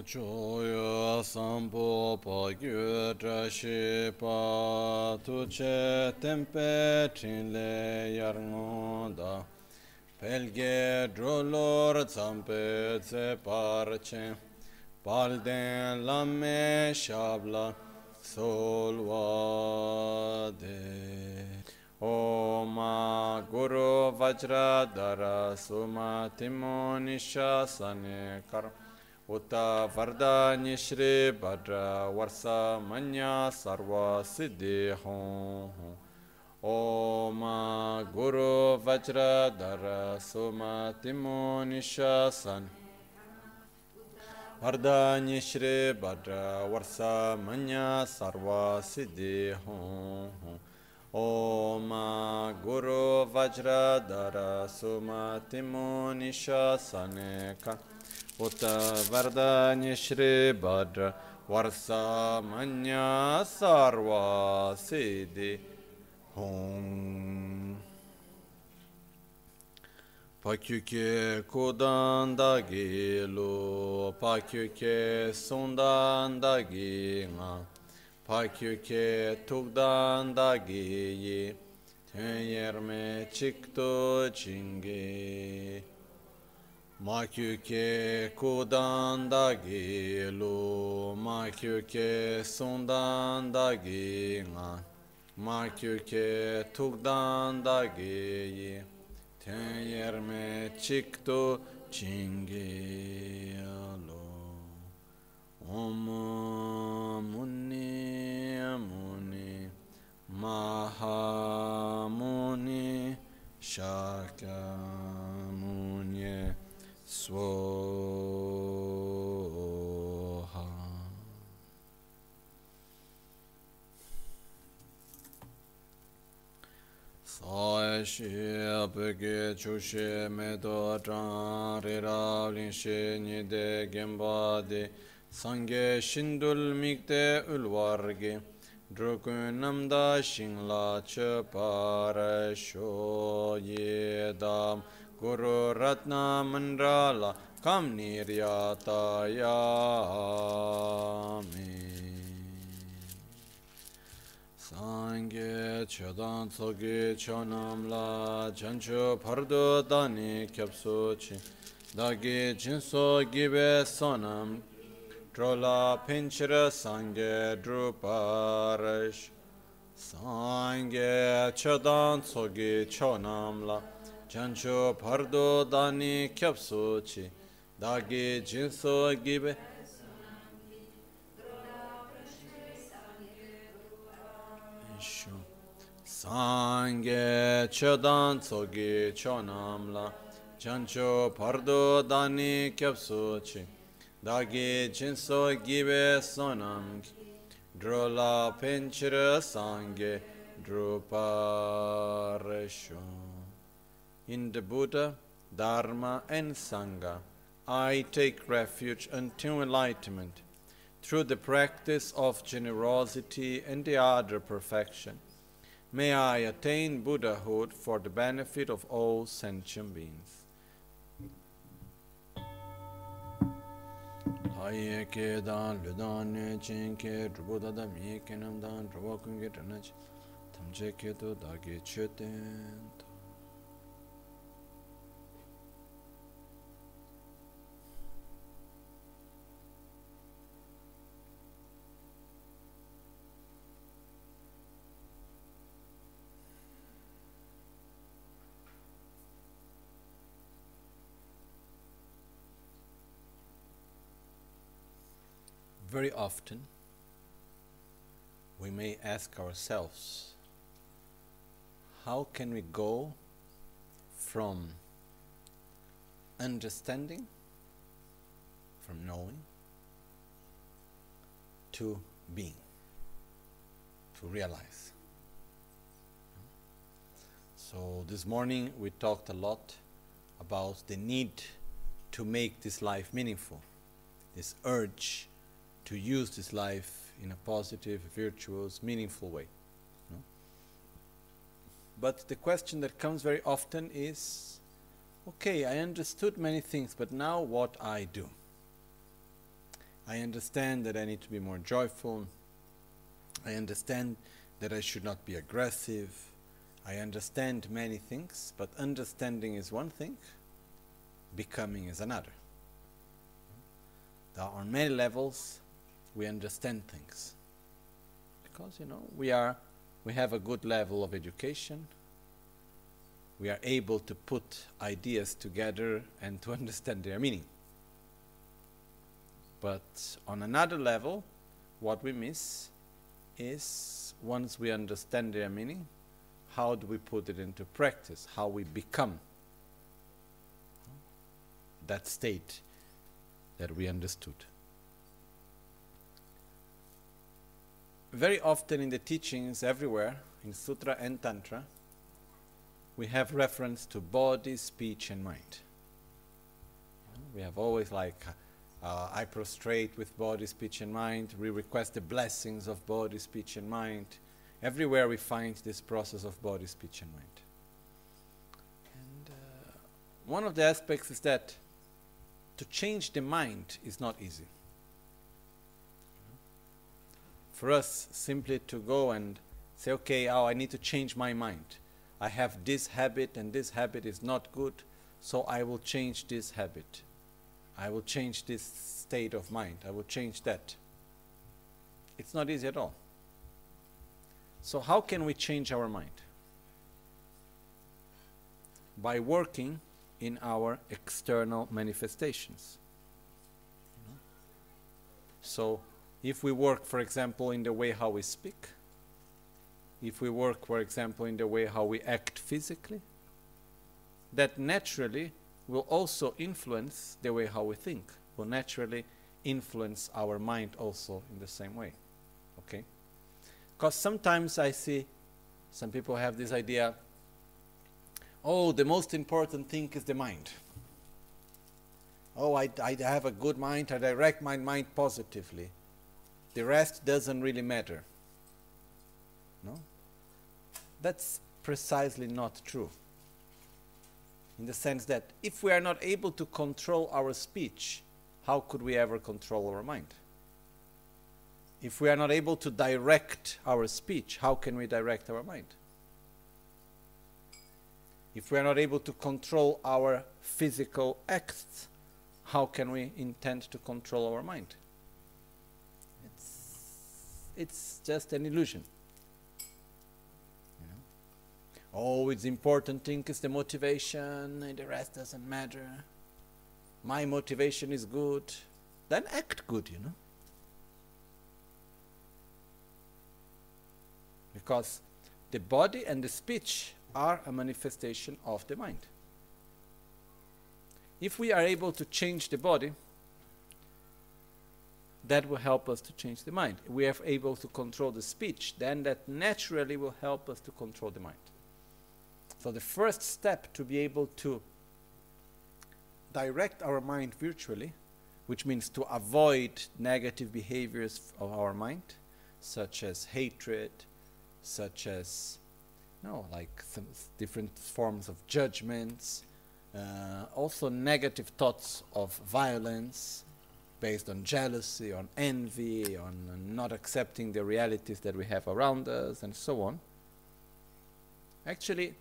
choyo sampo pa gyu trashi pa tu che tempe chinle yarngonda pelge drolor zampe tse parche palden lamme shabla solvade Oma Guru Vajradhara Suma Timo Nishasane Kar Uta Vardhani Shri Bhadra Varsa Manya Sarva Siddhi Hum Oma Guru Vajradhara Suma Timo Nishasane Vardhani Shri Bhadra Varsa Manya Sarva Siddhi Hum Om Guru Vajradhara Sumatimo Nishasaneka Uta Vardhani Shri Bhadra Varsa Manya Sarva Siddhi Hum Pakyuke Kodandagi Lo Pakyuke Sundandagi Nga Pakyuke Tugdandagi Tenyerme Chikto Chingi Makyuke Kodandagi Lu Makyuke Sundandagi Nga Makyuke Tugdandagi Tenyerme Chikto Chingi Om Muni Muni Mahamuni Shakyamuni Swoha. Saeshi Apeke Chushe Medo Tran Riravlin She Nide Gembade Sangye Shindul Mikte Ulvarge Drukun Namda Shingla Chepare Sho Yedam Guru Ratna Mandrala Kam Niryata Yami Sangye Chodan Tsogi Chonamla Chancho Pardo Dani Kyapsochi Dagi Jinso Gibe Sonam Drola Pinchira Sangye Druparash Sangye Chodan Tsogi Chonamla Chancho Pardo Dani Kyapsochi Dagi Jinso Gibe Sangye Chodan Tsogi Chonamla Chancho Pardo Dani Kyapsochi Dagi Jinso Gibe Sonam Drola Pinchira Sangye Druparesho. In the Buddha, Dharma and Sangha, I take refuge until enlightenment through the practice of generosity and the other perfection. May I attain Buddhahood for the benefit of all sentient beings. Aye ke dan ludan ne chen ke druboda da mi ke nam dan druwa kunge tanach tamje ke to dage cheten. Very often, we may ask ourselves, how can we go from understanding, from knowing, to being, to realize? So this morning we talked a lot about the need to make this life meaningful, this urge to use this life in a positive, virtuous, meaningful way. No? But the question that comes very often is, okay, I understood many things, but now what I do? I understand that I need to be more joyful. I understand that I should not be aggressive. I understand many things, but understanding is one thing, becoming is another. There are many levels we understand things. Because, we have a good level of education. We are able to put ideas together and to understand their meaning. But on another level, what we miss is, once we understand their meaning, how do we put it into practice? How we become that state that we understood. Very often in the teachings everywhere, in Sutra and Tantra, we have reference to body, speech and mind. We have always I prostrate with body, speech and mind. We request the blessings of body, speech and mind. Everywhere we find this process of body, speech and mind. And one of the aspects is that to change the mind is not easy. For us, simply to go and say, okay, I need to change my mind. I have this habit and this habit is not good, so I will change this habit. I will change this state of mind. I will change that. It's not easy at all. So how can we change our mind? By working in our external manifestations. So if we work, for example, in the way how we speak, if we work, for example, in the way how we act physically, that naturally will also influence the way how we think, will naturally influence our mind also in the same way. Okay? Because sometimes I see some people have this idea, oh, the most important thing is the mind. Oh, I have a good mind, I direct my mind positively. The rest doesn't really matter. No? That's precisely not true. In the sense that if we are not able to control our speech, how could we ever control our mind? If we are not able to direct our speech, how can we direct our mind? If we are not able to control our physical acts, how can we intend to control our mind? It's just an illusion. Oh, it's important thing is the motivation, and the rest doesn't matter. My motivation is good. Then act good, Because the body and the speech are a manifestation of the mind. If we are able to change the body, that will help us to change the mind. If we are able to control the speech, then that naturally will help us to control the mind. So the first step to be able to direct our mind virtually, which means to avoid negative behaviors of our mind, such as hatred, such as some different forms of judgments, also negative thoughts of violence based on jealousy, on envy, on not accepting the realities that we have around us, and so on. Actually,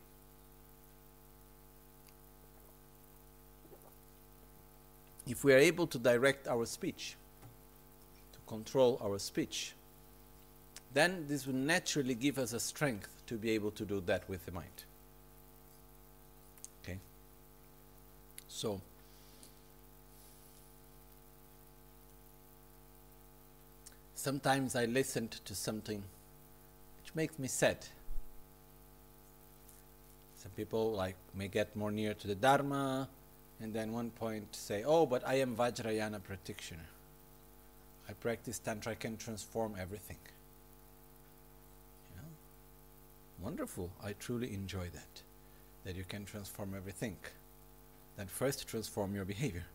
if we are able to direct our speech, to control our speech, then this will naturally give us a strength to be able to do that with the mind. Okay? So, sometimes I listened to something which makes me sad. Some people may get more near to the Dharma, and then one point say, oh, but I am Vajrayana practitioner. I practice Tantra, I can transform everything. Wonderful, I truly enjoy that you can transform everything. Then first transform your behavior.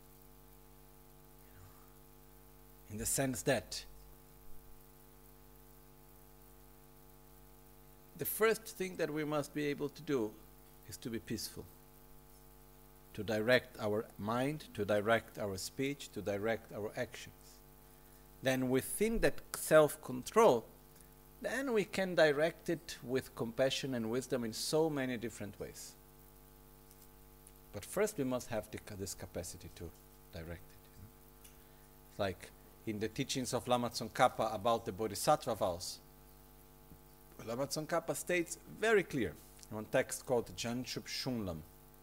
In the sense that the first thing that we must be able to do is to be peaceful. To direct our mind, to direct our speech, to direct our actions. then within that self-control, then we can direct it with compassion and wisdom in so many different ways. But first we must have this capacity to direct it. It's like in the teachings of Lama Tsongkhapa about the Bodhisattva vows. Lama Tsongkhapa states very clear in one text called Janchup Shunlam,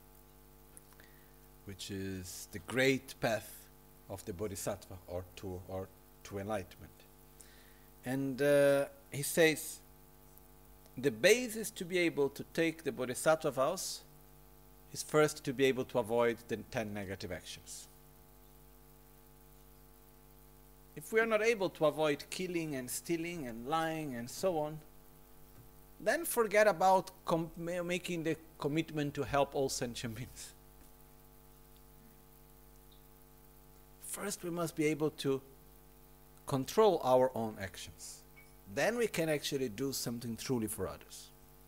which is the great path of the Bodhisattva or to enlightenment. And he says, the basis to be able to take the Bodhisattva vows is first to be able to avoid the 10 negative actions. If we are not able to avoid killing and stealing and lying and so on, then forget about making the commitment to help all sentient beings. First we must be able to control our own actions. Then we can actually do something truly for others.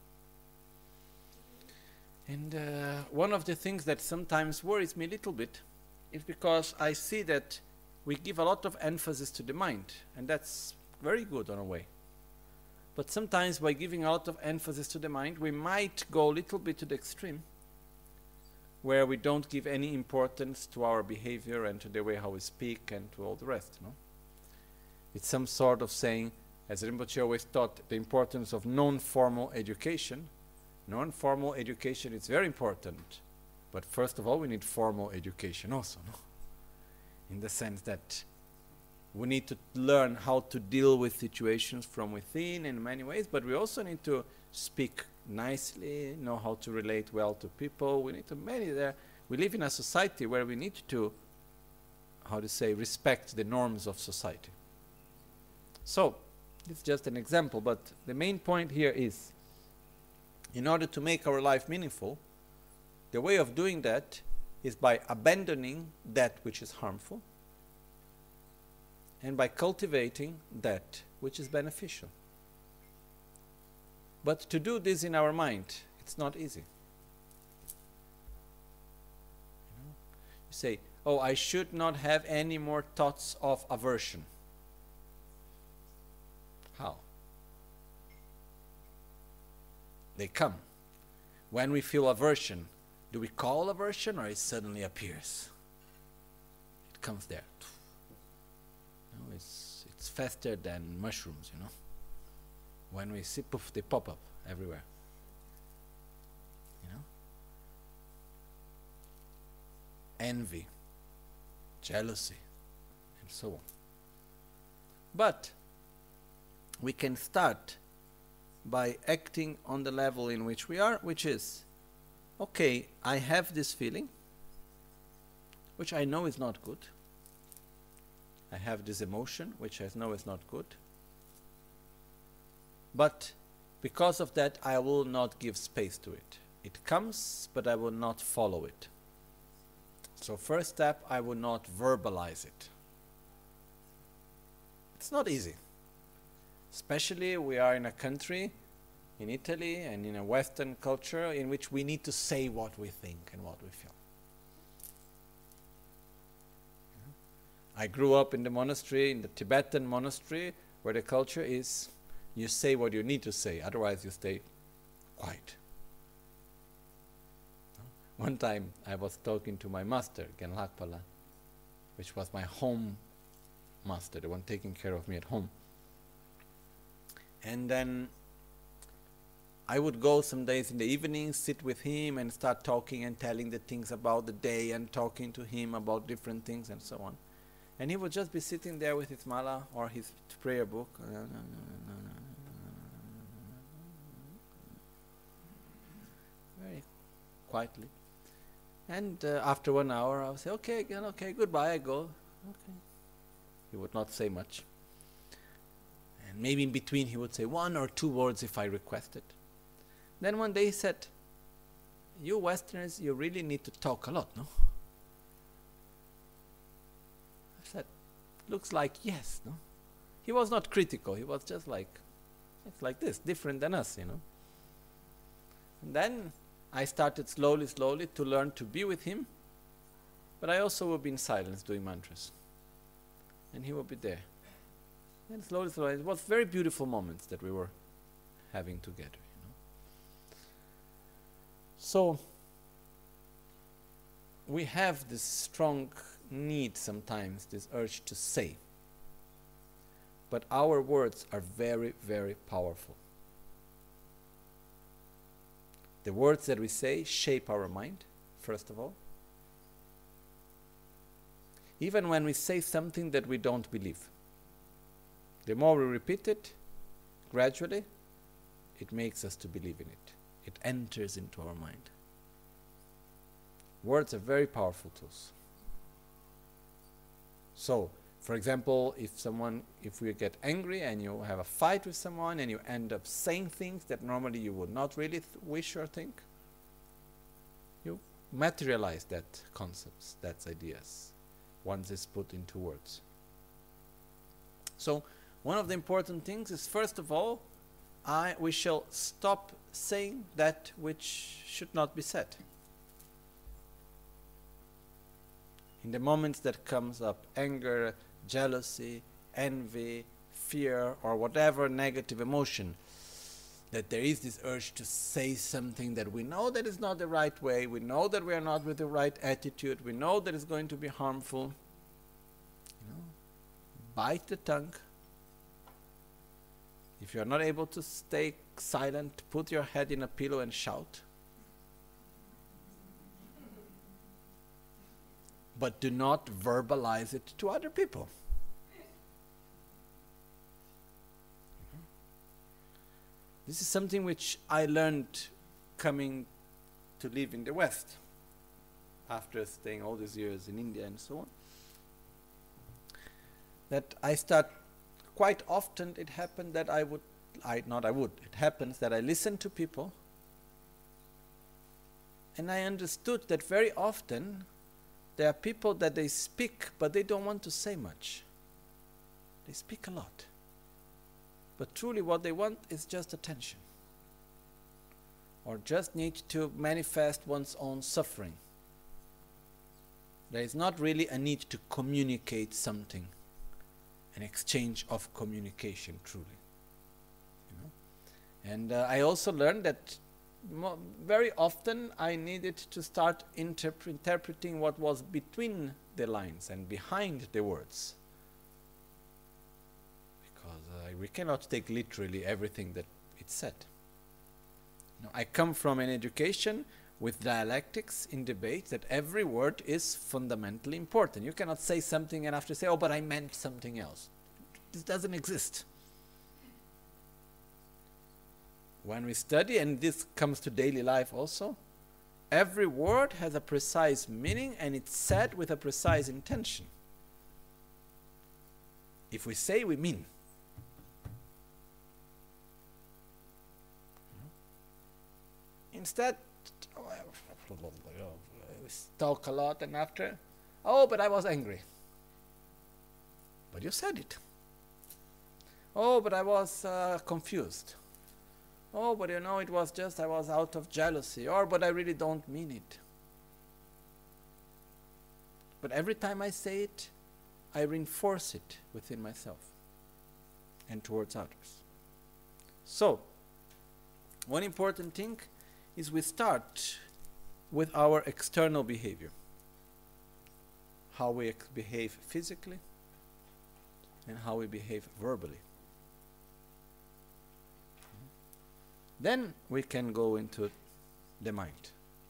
And one of the things that sometimes worries me a little bit is because I see that we give a lot of emphasis to the mind, and that's very good on a way. But sometimes by giving a lot of emphasis to the mind, we might go a little bit to the extreme, where we don't give any importance to our behavior and to the way how we speak and to all the rest. No? It's some sort of saying, as Rinpoche always taught, the importance of non-formal education. Non-formal education is very important, but first of all we need formal education also, no? In the sense that we need to learn how to deal with situations from within in many ways, but we also need to speak nicely, know how to relate well to people. We need to we live in a society where we need to, how to say, respect the norms of society. So, it's just an example, but the main point here is, in order to make our life meaningful, the way of doing that is by abandoning that which is harmful and by cultivating that which is beneficial. But to do this in our mind, it's not easy. You say, oh, I should not have any more thoughts of aversion. How? They come. When we feel aversion, do we call aversion or it suddenly appears? It comes there. You know, it's faster than mushrooms, you know. When we see, poof, they pop up everywhere. You know? Envy, jealousy, and so on. But we can start by acting on the level in which we are, which is, okay, I have this feeling, which I know is not good. I have this emotion, which I know is not good. But because of that, I will not give space to it. It comes, but I will not follow it. So first step, I will not verbalize it. It's not easy. Especially we are in a country, in Italy and in a Western culture, in which we need to say what we think and what we feel. I grew up in the monastery, in the Tibetan monastery, where the culture is, you say what you need to say, otherwise you stay quiet. One time I was talking to my master, Genlakpala, which was my home master, the one taking care of me at home. And then I would go some days in the evening, sit with him and start talking and telling the things about the day and talking to him about different things and so on. And he would just be sitting there with his mala or his prayer book. Very quietly. And after 1 hour I would say, okay, again, okay, goodbye, I go. Okay. He would not say much. And maybe in between he would say 1 or 2 words if I requested. Then one day he said, you Westerners, you really need to talk a lot, no? I said, looks like yes, no? He was not critical, he was just like, it's like this, different than us, you know? And then I started slowly to learn to be with him, but I also would be in silence doing mantras. And he would be there. And slowly, slowly, it was very beautiful moments that we were having together. So we have this strong need sometimes, this urge to say. But our words are very, very powerful. The words that we say shape our mind, first of all. Even when we say something that we don't believe. The more we repeat it, gradually, it makes us to believe in it. It enters into our mind. Words are very powerful tools. So, for example, if we get angry and you have a fight with someone and you end up saying things that normally you would not really wish or think, you materialize that concepts, that ideas, once it's put into words. So, one of the important things is, first of all, we shall stop saying that which should not be said. In the moments that comes up anger, jealousy, envy, fear, or whatever negative emotion, that there is this urge to say something that we know that is not the right way, we know that we are not with the right attitude, we know that it's going to be harmful. Bite the tongue. If you are not able to stay silent, put your head in a pillow and shout. But do not verbalize it to other people. This is something which I learned coming to live in the West, after staying all these years in India and so on. That I start, quite often it happened that it happens that I listen to people and I understood that very often there are people that they speak, but they don't want to say much. They speak a lot. But truly what they want is just attention. Or just need to manifest one's own suffering. There is not really a need to communicate something. An exchange of communication, truly. And I also learned that very often I needed to start interpreting what was between the lines and behind the words. Because we cannot take literally everything that it said. I come from an education with dialectics in debate that every word is fundamentally important. You cannot say something and after say, oh, but I meant something else. This doesn't exist. When we study, and this comes to daily life also, every word has a precise meaning and it's said with a precise intention. If we say, we mean. Instead, we talk a lot and after, oh, but I was angry. But you said it. Oh, but I was confused. Oh, but it was just I was out of jealousy. Or, but I really don't mean it. But every time I say it, I reinforce it within myself and towards others. So, one important thing is we start with our external behavior. How we behave physically and how we behave verbally. Then we can go into the mind.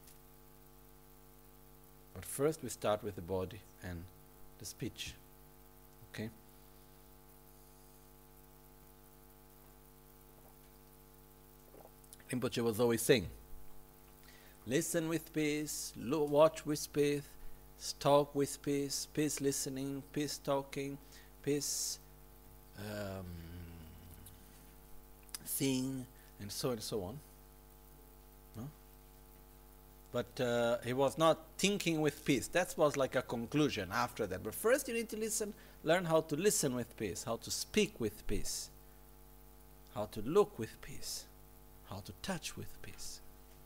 But first we start with the body and the speech. Okay? Rinpoche was always saying, listen with peace, watch with peace, talk with peace, peace listening, peace talking, peace seeing, and so on. No? But he was not thinking with peace. That was like a conclusion after that. But first you need to listen, learn how to listen with peace, how to speak with peace, how to look with peace, how to touch with peace.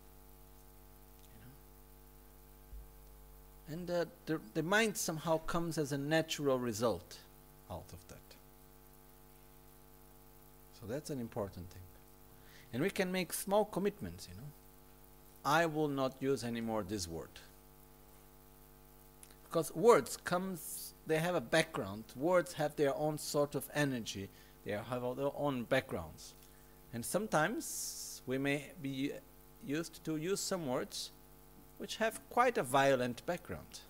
And the mind somehow comes as a natural result out of that. So that's an important thing. And we can make small commitments, you know. I will not use anymore this word. Because words they have a background. Words have their own sort of energy. They have their own backgrounds. And sometimes we may be used to use some words which have quite a violent background.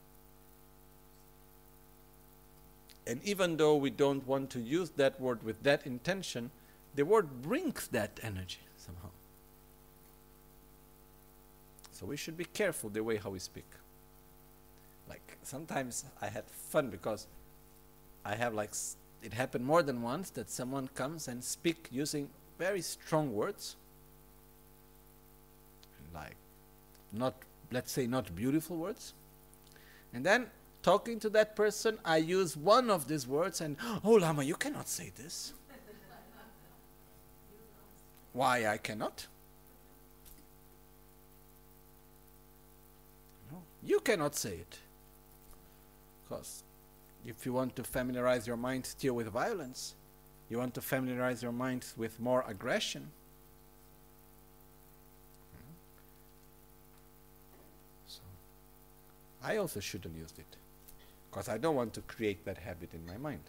And even though we don't want to use that word with that intention, the word brings that energy somehow. So we should be careful the way how we speak. Like sometimes I had fun because I have it happened more than once that someone comes and speak using very strong words, like let's say not beautiful words, and then talking to that person I use one of these words and, oh Lama, you cannot say this. Why I cannot? No, you cannot say it. Because if you want to familiarize your mind still with violence, you want to familiarize your mind with more aggression, so I also shouldn't use it, because I don't want to create that habit in my mind.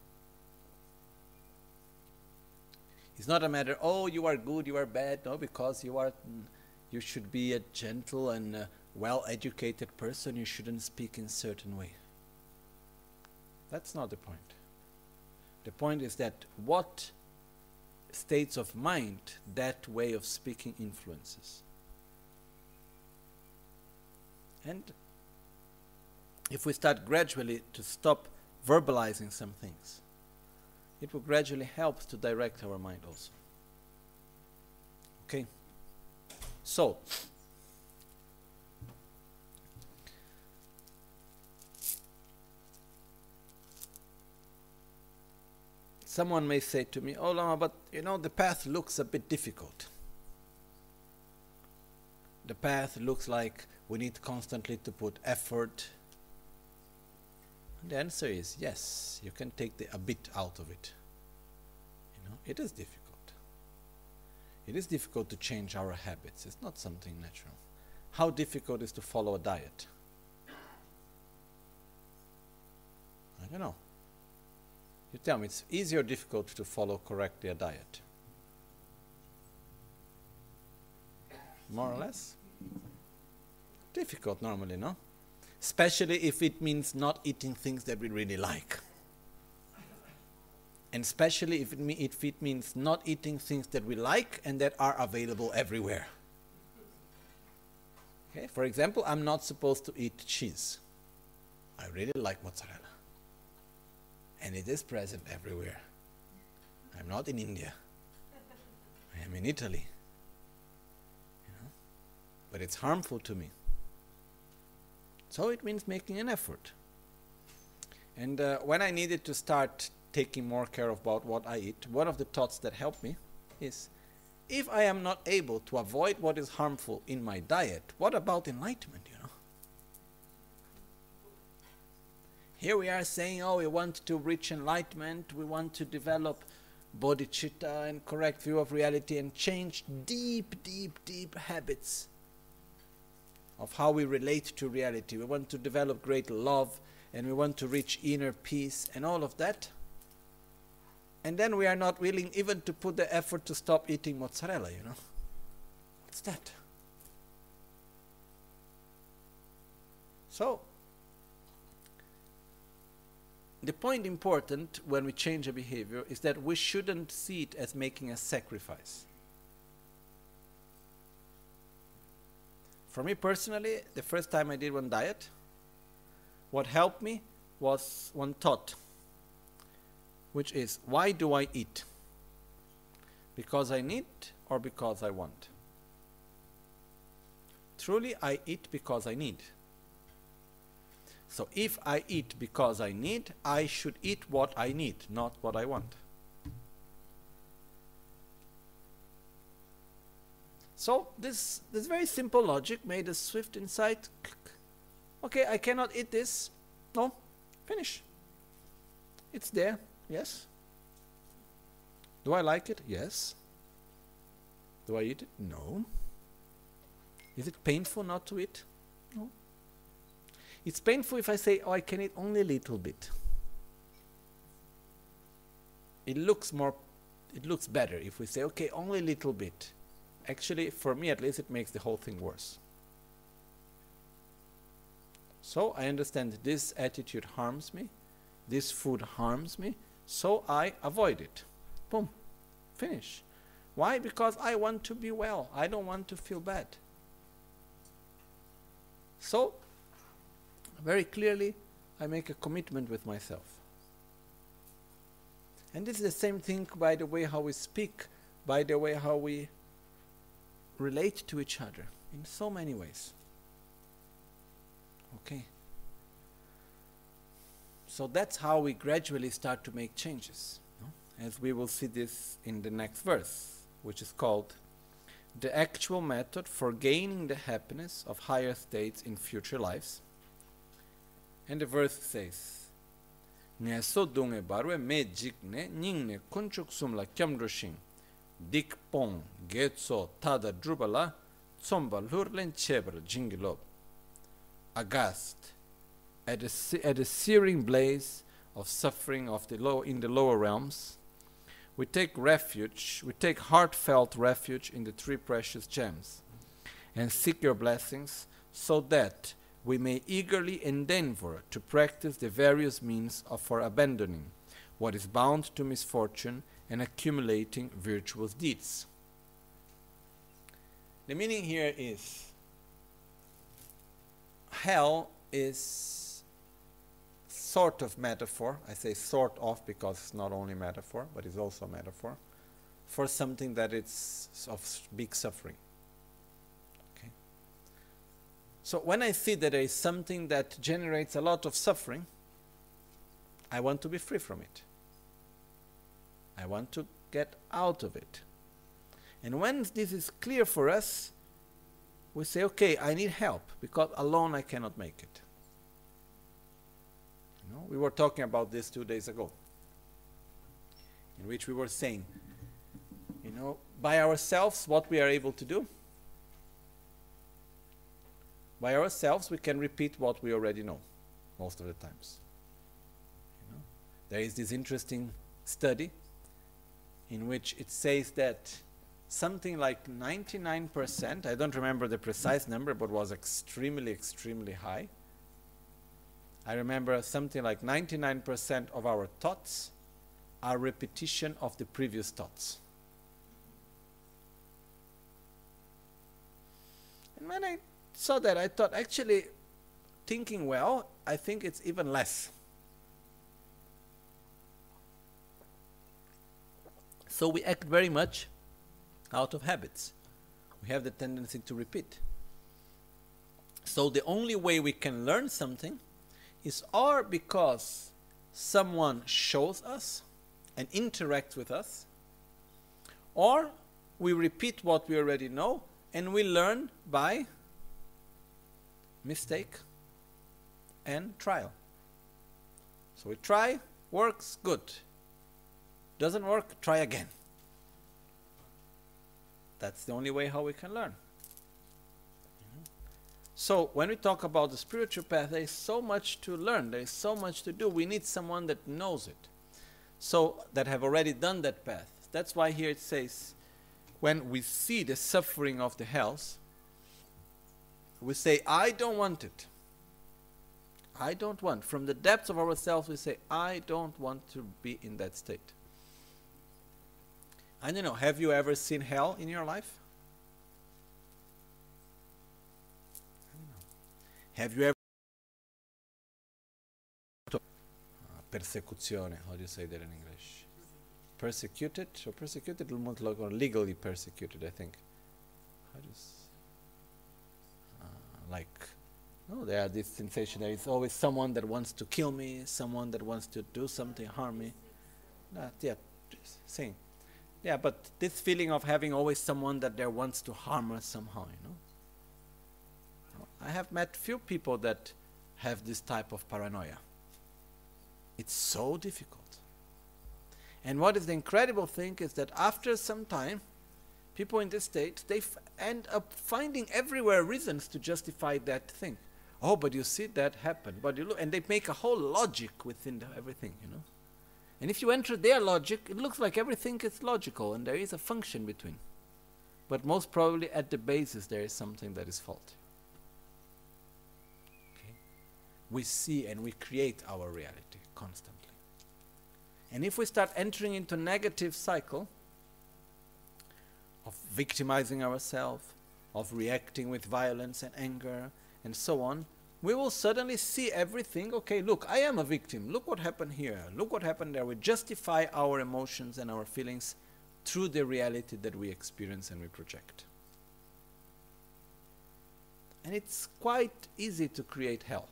It's not a matter, oh, you are good, you are bad. No, because you should be a gentle and well-educated person, you shouldn't speak in a certain way. That's not the point. The point is that what states of mind that way of speaking influences. And if we start gradually to stop verbalizing some things, it will gradually help to direct our mind also. Okay? So, someone may say to me, oh Lama, but you know, the path looks a bit difficult. The path looks like we need constantly to put effort. And the answer is yes, you can take a bit out of it. You know, it is difficult. It is difficult to change our habits. It's not something natural. How difficult is to follow a diet? I don't know. You tell me, it's easy or difficult to follow correctly a diet? More or less? Difficult normally, no? Especially if it means not eating things that we really like. And especially if it means not eating things that we like and that are available everywhere. Okay, for example, I'm not supposed to eat cheese. I really like mozzarella. And it is present everywhere. I'm not in India. I am in Italy. You know? But it's harmful to me. So it means making an effort. And when I needed to start taking more care about what I eat, one of the thoughts that helped me is, if I am not able to avoid what is harmful in my diet, what about enlightenment, you know? Here we are saying, oh, we want to reach enlightenment, we want to develop bodhicitta and correct view of reality and change deep, deep, deep habits of how we relate to reality. We want to develop great love and we want to reach inner peace and all of that. And then we are not willing even to put the effort to stop eating mozzarella, you know. What's that? So, the point important when we change a behavior is that we shouldn't see it as making a sacrifice. For me personally, the first time I did one diet, what helped me was one thought, which is, why do I eat? Because I need or because I want? Truly, I eat because I need. So if I eat because I need, I should eat what I need, not what I want. So this very simple logic made a swift insight. Okay, I cannot eat this. No, finish. It's there, yes. Do I like it? Yes. Do I eat it? No. Is it painful not to eat? No. It's painful if I say, oh, I can eat only a little bit. It looks better if we say, okay, only a little bit. Actually, for me at least, it makes the whole thing worse. So I understand this attitude harms me, this food harms me, so I avoid it. Boom. Finish. Why? Because I want to be well. I don't want to feel bad. So, very clearly, I make a commitment with myself. And this is the same thing by the way how we speak, by the way how we relate to each other, in so many ways. Okay. So that's how we gradually start to make changes. No? As we will see this in the next verse, which is called the actual method for gaining the happiness of higher states in future lives. And the verse says, Nye so dunge barwe me jikne nyingne kunchuk sumla kyamdrushin dik pong getso tada drubala tsomba lurlen chebra jingilob. Aghast at the searing blaze of suffering of in the lower realms, we take heartfelt refuge in the three precious gems, and seek your blessings so that we may eagerly endeavor to practice the various means for abandoning what is bound to misfortune and accumulating virtuous deeds. The meaning here is, hell is sort of metaphor. I say sort of because it's not only metaphor, but it's also metaphor for something that is of big suffering. Okay. So when I see that there is something that generates a lot of suffering, I want to be free from it. I want to get out of it. And when this is clear for us, we say, okay, I need help, because alone I cannot make it. You know, we were talking about this 2 days ago, in which we were saying, you know, by ourselves, what we are able to do, by ourselves we can repeat what we already know, most of the times. You know, there is this interesting study in which it says that something like 99%, I don't remember the precise number, but was extremely, extremely high. I remember something like 99% of our thoughts are repetition of the previous thoughts. And when I saw that, I thought, actually, thinking well, I think it's even less. So we act very much out of habits. We have the tendency to repeat. So the only way we can learn something is or because someone shows us and interacts with us, or we repeat what we already know and we learn by mistake and trial. So we try, works, good. Doesn't work, try again. That's the only way how we can learn. So when we talk about the spiritual path, there is so much to learn, there is so much to do. We need someone that knows it, so that have already done that path. That's why here it says, when we see the suffering of the hells, we say, I don't want it. I don't want. From the depths of ourselves we say, I don't want to be in that state. I don't know, have you ever seen hell in your life? Have you ever persecuzione, how do you say that in English? Persecuted, or persecuted, or legally persecuted, I think. How do you like, no, there are this sensation, there is always someone that wants to kill me, someone that wants to do something, harm me. Yeah, just saying. Yeah, but this feeling of having always someone that there wants to harm us somehow, you know. I have met few people that have this type of paranoia. It's so difficult. And what is the incredible thing is that after some time, people in this state, they end up finding everywhere reasons to justify that thing. Oh, but you see that happen. But you look, and they make a whole logic within everything, you know. And if you enter their logic, it looks like everything is logical and there is a function between. But most probably at the basis there is something that is faulty. Okay? We see and we create our reality constantly. And if we start entering into a negative cycle of victimizing ourselves, of reacting with violence and anger and so on, we will suddenly see everything, okay, look, I am a victim, look what happened here, look what happened there. We justify our emotions and our feelings through the reality that we experience and we project. And it's quite easy to create hell.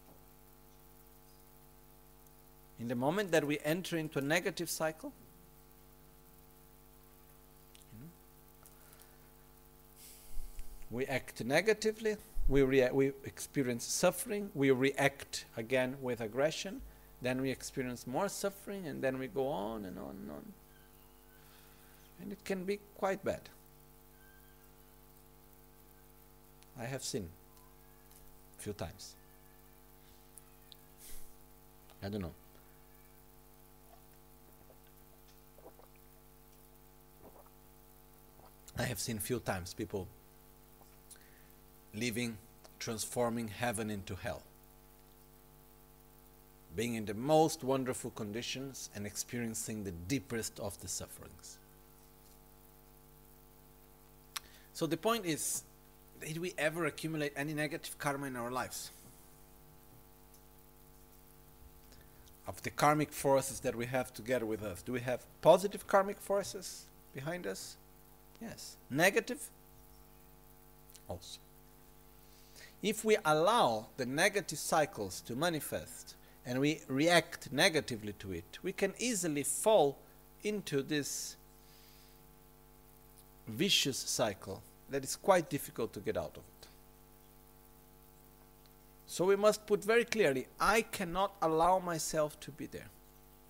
In the moment that we enter into a negative cycle, we act negatively, we experience suffering, we react again with aggression, then we experience more suffering, and then we go on and on and on. And it can be quite bad. I have seen a few times. I don't know. I have seen a few times people living, transforming heaven into hell. Being in the most wonderful conditions and experiencing the deepest of the sufferings. So the point is, did we ever accumulate any negative karma in our lives? Of the karmic forces that we have together with us, do we have positive karmic forces behind us? Yes. Negative? Also. If we allow the negative cycles to manifest and we react negatively to it, we can easily fall into this vicious cycle that is quite difficult to get out of it. So we must put very clearly, I cannot allow myself to be there.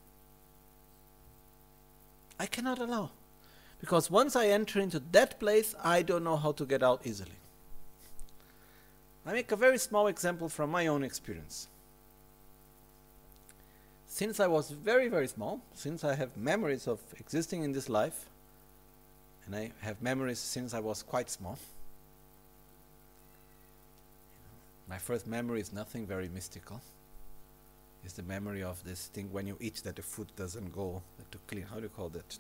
I cannot allow. Because once I enter into that place, I don't know how to get out easily. I make a very small example from my own experience. Since I was very, very small, since I have memories of existing in this life, and I have memories since I was quite small. My first memory is nothing very mystical. It's the memory of this thing when you eat that the food doesn't go to clean. How do you call that?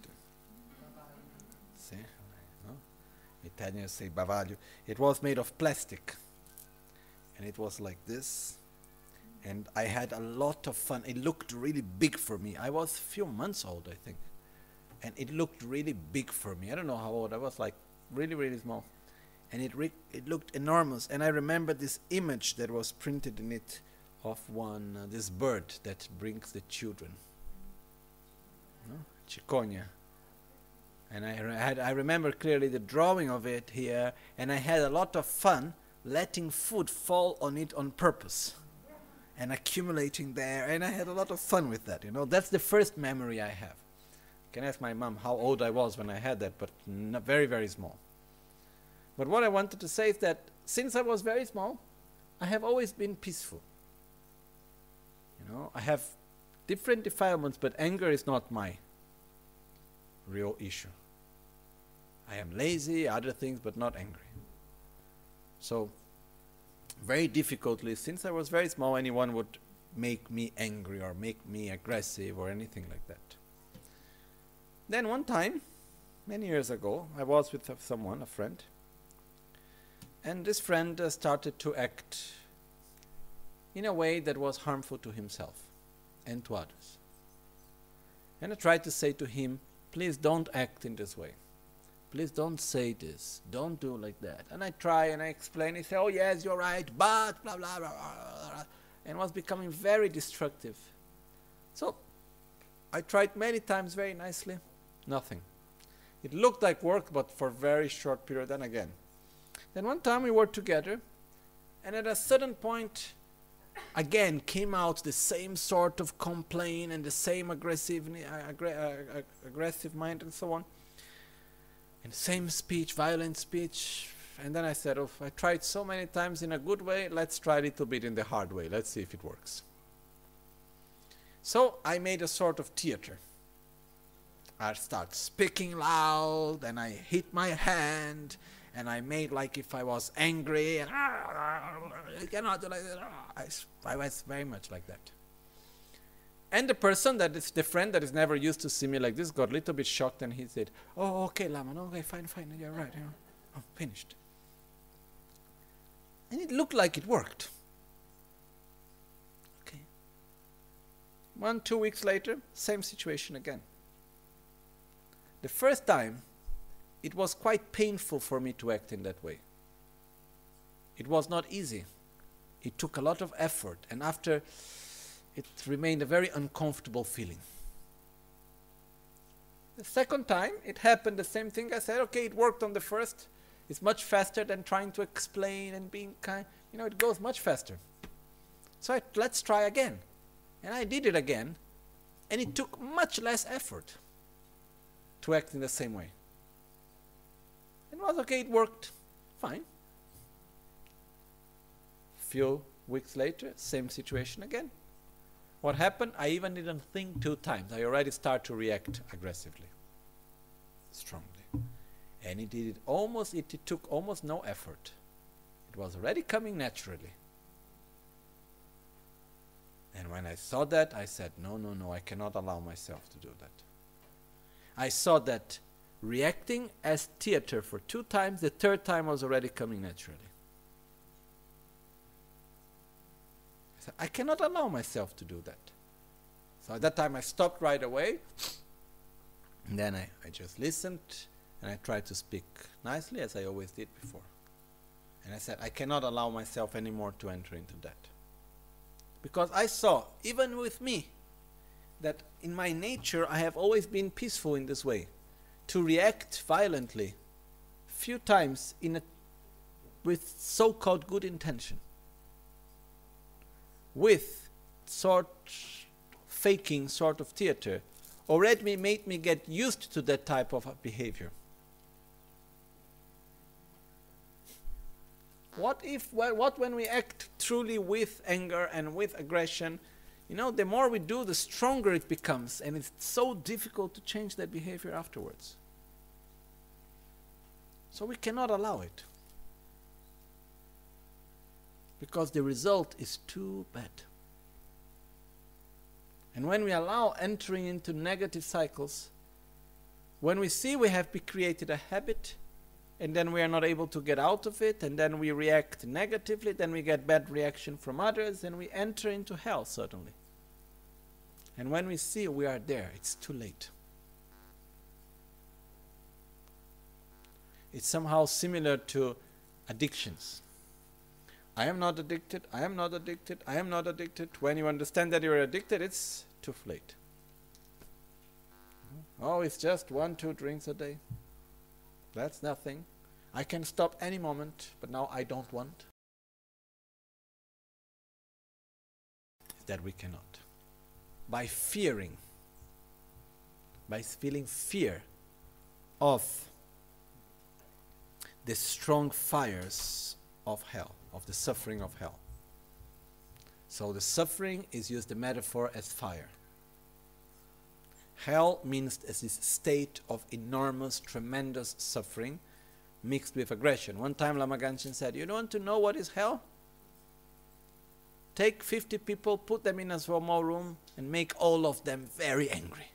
See? No? Italians say bavaglio. It was made of plastic. And it was like this. And I had a lot of fun. It looked really big for me. I was a few months old, I think. And it looked really big for me. I don't know how old. I was like really, really small. And it looked enormous. And I remember this image that was printed in it of this bird that brings the children. No? Cicogna. And I remember clearly the drawing of it here. And I had a lot of fun letting food fall on it on purpose. And accumulating there. And I had a lot of fun with that. You know, that's the first memory I have. I can ask my mom how old I was when I had that, but very, very small. But what I wanted to say is that since I was very small, I have always been peaceful. You know, I have different defilements, but anger is not my real issue. I am lazy, other things, but not angry. So, very difficultly, since I was very small, anyone would make me angry or make me aggressive or anything like that. Then one time, many years ago, I was with someone, a friend, and this friend started to act in a way that was harmful to himself and to others. And I tried to say to him, please don't act in this way. Please don't say this. Don't do like that. And I try and I explain. He said, oh yes, you're right, but blah, blah, blah, blah, blah. And was becoming very destructive. So I tried many times very nicely. Nothing. It looked like work, but for a very short period, then again. Then one time we were together, and at a certain point, again came out the same sort of complaint and the same aggressive mind and so on. And same speech, violent speech. And then I said, oh, I tried so many times in a good way, let's try a little bit in the hard way. Let's see if it works. So I made a sort of theater. I started speaking loud, and I hit my hand, and I made like if I was angry, and you cannot do like that. I was very much like that. And the person that is the friend that is never used to see me like this got a little bit shocked, and he said, "Oh, okay, Laman, okay, fine, you're right. I'm finished." And it looked like it worked. Okay. 1-2 weeks later, same situation again. The first time, it was quite painful for me to act in that way. It was not easy. It took a lot of effort, and after, it remained a very uncomfortable feeling. The second time, it happened the same thing. I said, okay, it worked on the first. It's much faster than trying to explain and being kind. It goes much faster. So let's try again. And I did it again, and it took much less effort to act in the same way. It was okay, it worked fine. Few weeks later, same situation again. What happened? I even didn't think 2 times. I already started to react aggressively, strongly. And it took almost no effort. It was already coming naturally. And when I saw that, I said, no, I cannot allow myself to do that. I saw that reacting as theater for 2 times, the 3rd time was already coming naturally. I said, I cannot allow myself to do that. So at that time I stopped right away, and then I just listened, and I tried to speak nicely as I always did before. And I said, I cannot allow myself anymore to enter into that. Because I saw, even with me, that in my nature I have always been peaceful in this way. To react violently, few times with so-called good intention. With faking sort of theater, already made me get used to that type of behavior. What when we act truly with anger and with aggression? The more we do, the stronger it becomes, and it's so difficult to change that behavior afterwards. So we cannot allow it, because the result is too bad. And when we allow entering into negative cycles, when we see we have created a habit, and then we are not able to get out of it, and then we react negatively, then we get bad reaction from others, and we enter into hell, certainly. And when we see we are there, it's too late. It's somehow similar to addictions. I am not addicted, I am not addicted, I am not addicted. When you understand that you're addicted, it's too late. Oh, it's just 1-2 drinks a day. That's nothing. I can stop any moment, but now I don't want. That we cannot. By feeling fear of the strong fires of hell, of the suffering of hell. So the suffering is used the metaphor as fire. Hell means as this state of enormous, tremendous suffering mixed with aggression. One time Lama Gangchen said, you don't want to know what is hell? Take 50 people, put them in a small room, and make all of them very angry.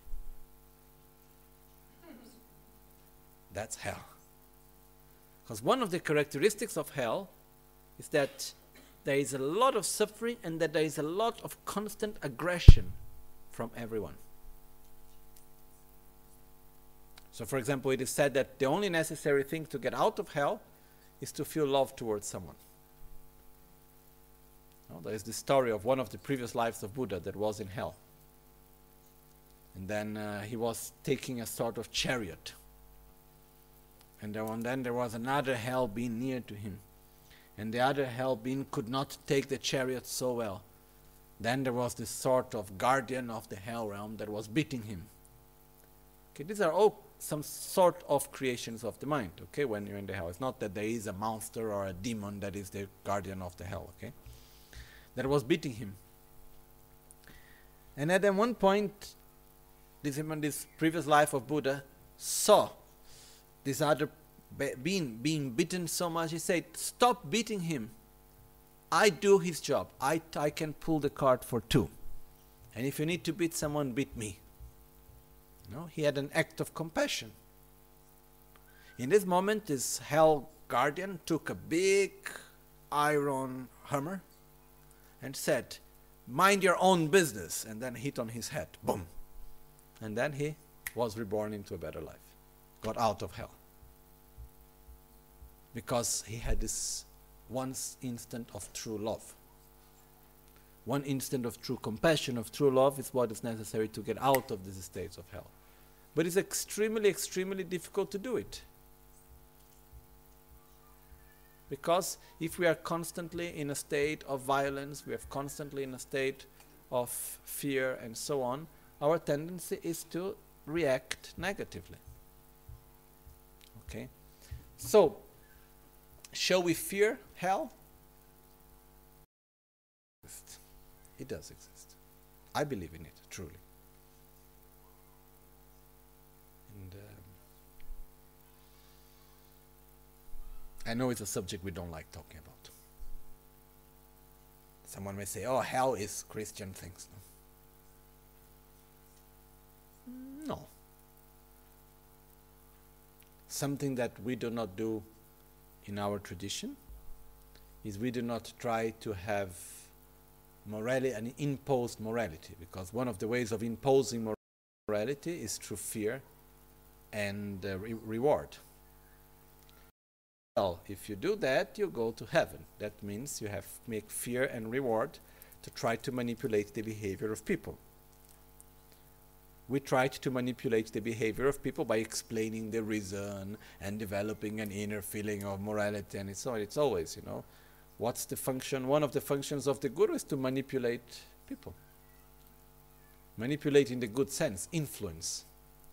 That's hell. Because one of the characteristics of hell is that there is a lot of suffering and that there is a lot of constant aggression from everyone. So, for example, it is said that the only necessary thing to get out of hell is to feel love towards someone. There is the story of one of the previous lives of Buddha that was in hell. And then he was taking a sort of chariot. And then there was another hell being near to him. And the other hell being could not take the chariot so well. Then there was this sort of guardian of the hell realm that was beating him. Okay, these are all some sort of creations of the mind, okay, when you're in the hell. It's not that there is a monster or a demon that is the guardian of the hell, okay, that was beating him. And at one point, this previous life of Buddha saw this other being beaten so much, he said, stop beating him. I do his job. I can pull the cart for two. And if you need to beat someone, beat me. No, he had an act of compassion. In this moment, this hell guardian took a big iron hammer and said, mind your own business, and then hit on his head. Boom. And then he was reborn into a better life. Got out of hell. Because he had this one instant of true love. One instant of true compassion, of true love is what is necessary to get out of these states of hell. But it's extremely, extremely difficult to do it. Because if we are constantly in a state of violence, we are constantly in a state of fear and so on, our tendency is to react negatively. Okay? So, shall we fear hell? It does exist. I believe in it, truly. And I know it's a subject we don't like talking about. Someone may say, oh, hell is Christian things. No. Something that we do not do in our tradition is we do not try to have morality, an imposed morality, because one of the ways of imposing morality is through fear and reward. Well, if you do that, you go to heaven. That means you have to make fear and reward to try to manipulate the behavior of people. We tried to manipulate the behavior of people by explaining the reason and developing an inner feeling of morality, and it's always, you know, what's the function? One of the functions of the Guru is to manipulate people. Manipulate in the good sense, influence.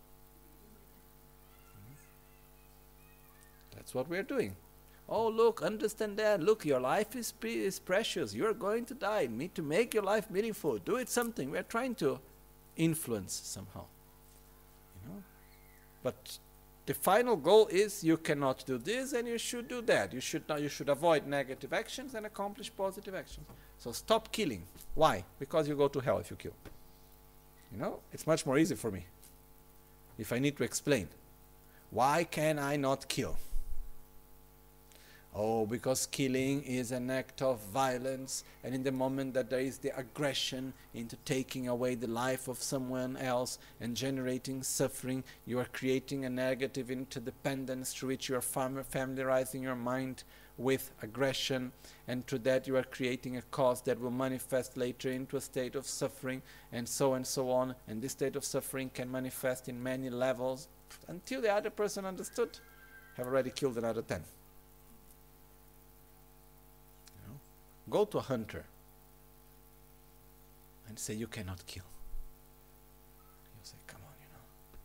That's what we're doing. Oh, look, understand that. Look, your life is precious. You're going to die. Need to make your life meaningful. Do it something. We're trying to influence somehow. You know? But the final goal is you cannot do this and you should do that. You should avoid negative actions and accomplish positive actions. So stop killing. Why? Because you go to hell if you kill. You know, it's much more easy for me if I need to explain. Why can I not kill? Oh, because killing is an act of violence, and in the moment that there is the aggression into taking away the life of someone else and generating suffering, you are creating a negative interdependence through which you are familiarizing your mind with aggression, and through that you are creating a cause that will manifest later into a state of suffering, and so on, and this state of suffering can manifest in many levels until the other person understood, have already killed another 10. Go to a hunter and say, you cannot kill. He'll say, come on, you know.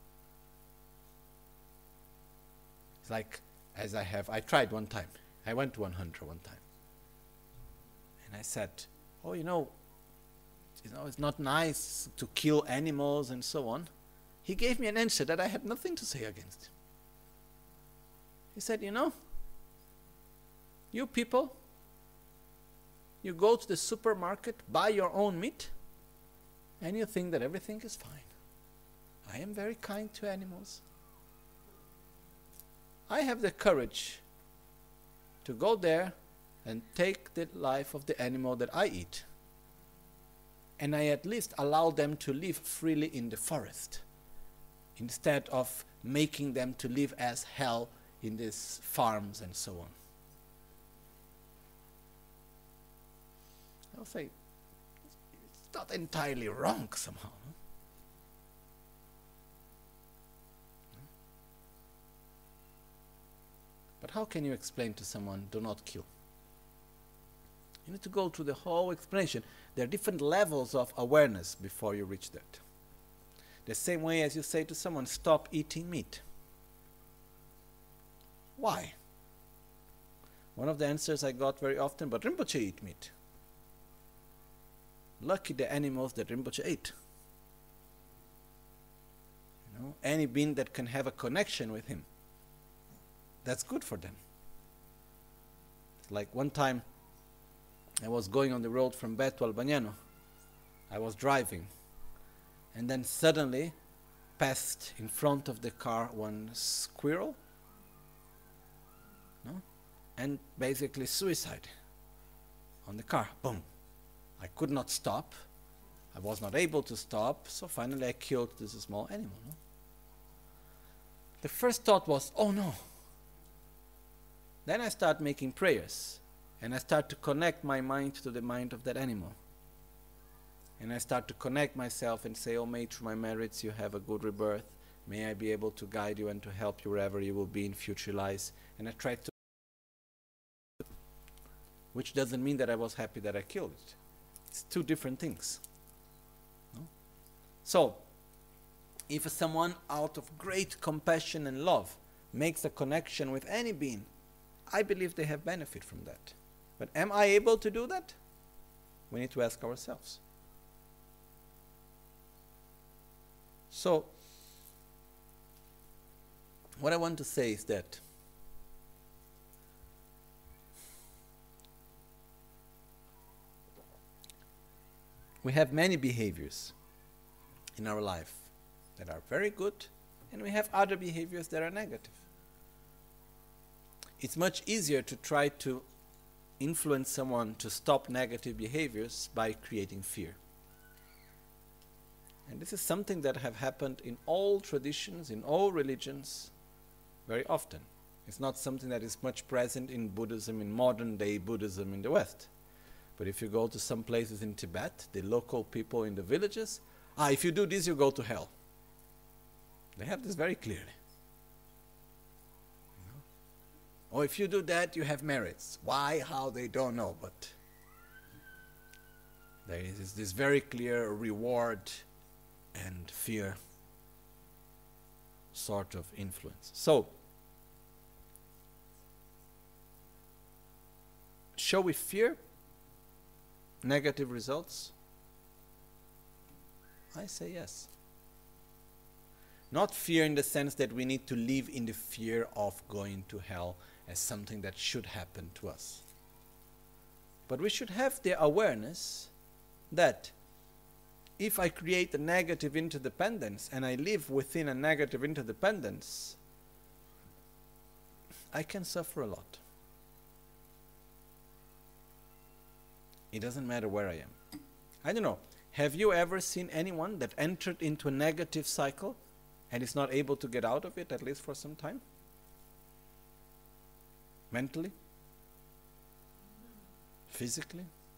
It's like, I tried one time. I went to one hunter one time. And I said, oh, you know, it's not nice to kill animals and so on. He gave me an answer that I had nothing to say against. He said, you know, you people, you go to the supermarket, buy your own meat, and you think that everything is fine. I am very kind to animals. I have the courage to go there and take the life of the animal that I eat. And I at least allow them to live freely in the forest, instead of making them to live as hell in these farms and so on. I'll say, it's not entirely wrong somehow. No? But how can you explain to someone, do not kill? You need to go through the whole explanation. There are different levels of awareness before you reach that. The same way as you say to someone, stop eating meat. Why? One of the answers I got very often, but Rinpoche eat meat. Lucky the animals that Rinpoche ate. You know, any being that can have a connection with him, that's good for them. It's like one time I was going on the road from Beto to Albagnano. I was driving, and then suddenly passed in front of the car one squirrel, no? And basically suicide on the car. Boom. I could not stop. I was not able to stop, so finally I killed this small animal. No? The first thought was, oh no. Then I start making prayers, and I start to connect my mind to the mind of that animal. And I start to connect myself and say, oh, may through my merits you have a good rebirth. May I be able to guide you and to help you wherever you will be in future lives. And I try to, which doesn't mean that I was happy that I killed it. It's two different things. No? So, if someone out of great compassion and love makes a connection with any being, I believe they have benefit from that. But am I able to do that? We need to ask ourselves. So, what I want to say is that we have many behaviors in our life that are very good, and we have other behaviors that are negative. It's much easier to try to influence someone to stop negative behaviors by creating fear. And this is something that have happened in all traditions, in all religions, very often. It's not something that is much present in Buddhism, in modern day Buddhism in the West. But if you go to some places in Tibet, the local people in the villages, if you do this, you go to hell. They have this very clearly. Or if you do that, you have merits. Why, how, they don't know, but there is this very clear reward and fear sort of influence. So, shall we fear negative results? I say yes. Not fear in the sense that we need to live in the fear of going to hell as something that should happen to us. But we should have the awareness that if I create a negative interdependence and I live within a negative interdependence, I can suffer a lot. It doesn't matter where I am. I don't know. Have you ever seen anyone that entered into a negative cycle and is not able to get out of it, at least for some time? Mentally? Physically?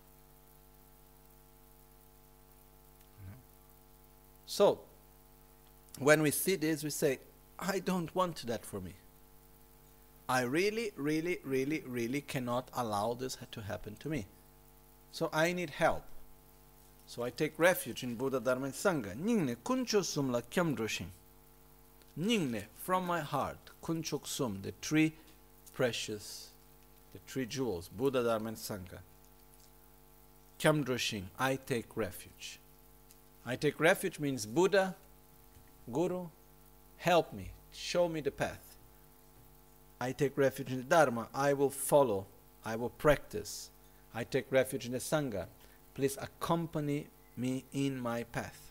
No. So, when we see this, we say, I don't want that for me. I really, really, really, really cannot allow this to happen to me. So I need help. So I take refuge in Buddha, Dharma and Sangha. Nyingne kuncho sum la kyamdroshin. Nyingne, from my heart, kunchok sum, the three precious, the three jewels, Buddha, Dharma and Sangha. Kyamdroshin, I take refuge. I take refuge means Buddha, Guru, help me, show me the path. I take refuge in the Dharma, I will follow, I will practice. I take refuge in the Sangha. Please accompany me in my path.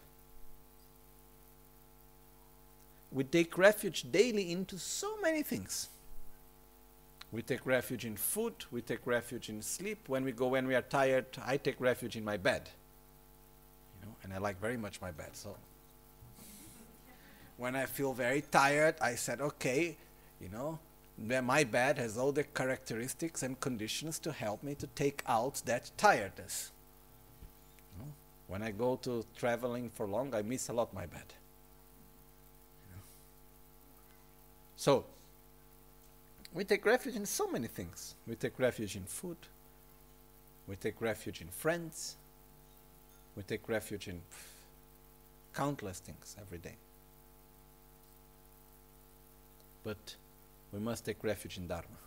We take refuge daily into so many things. We take refuge in food, we take refuge in sleep. When we are tired, I take refuge in my bed. You know, and I like very much my bed. So when I feel very tired, I said, okay, you know, my bed has all the characteristics and conditions to help me to take out that tiredness. You know, when I go to traveling for long, I miss a lot my bed. You know. So, we take refuge in so many things. We take refuge in food. We take refuge in friends. We take refuge in countless things every day. But we must take refuge in Dharma.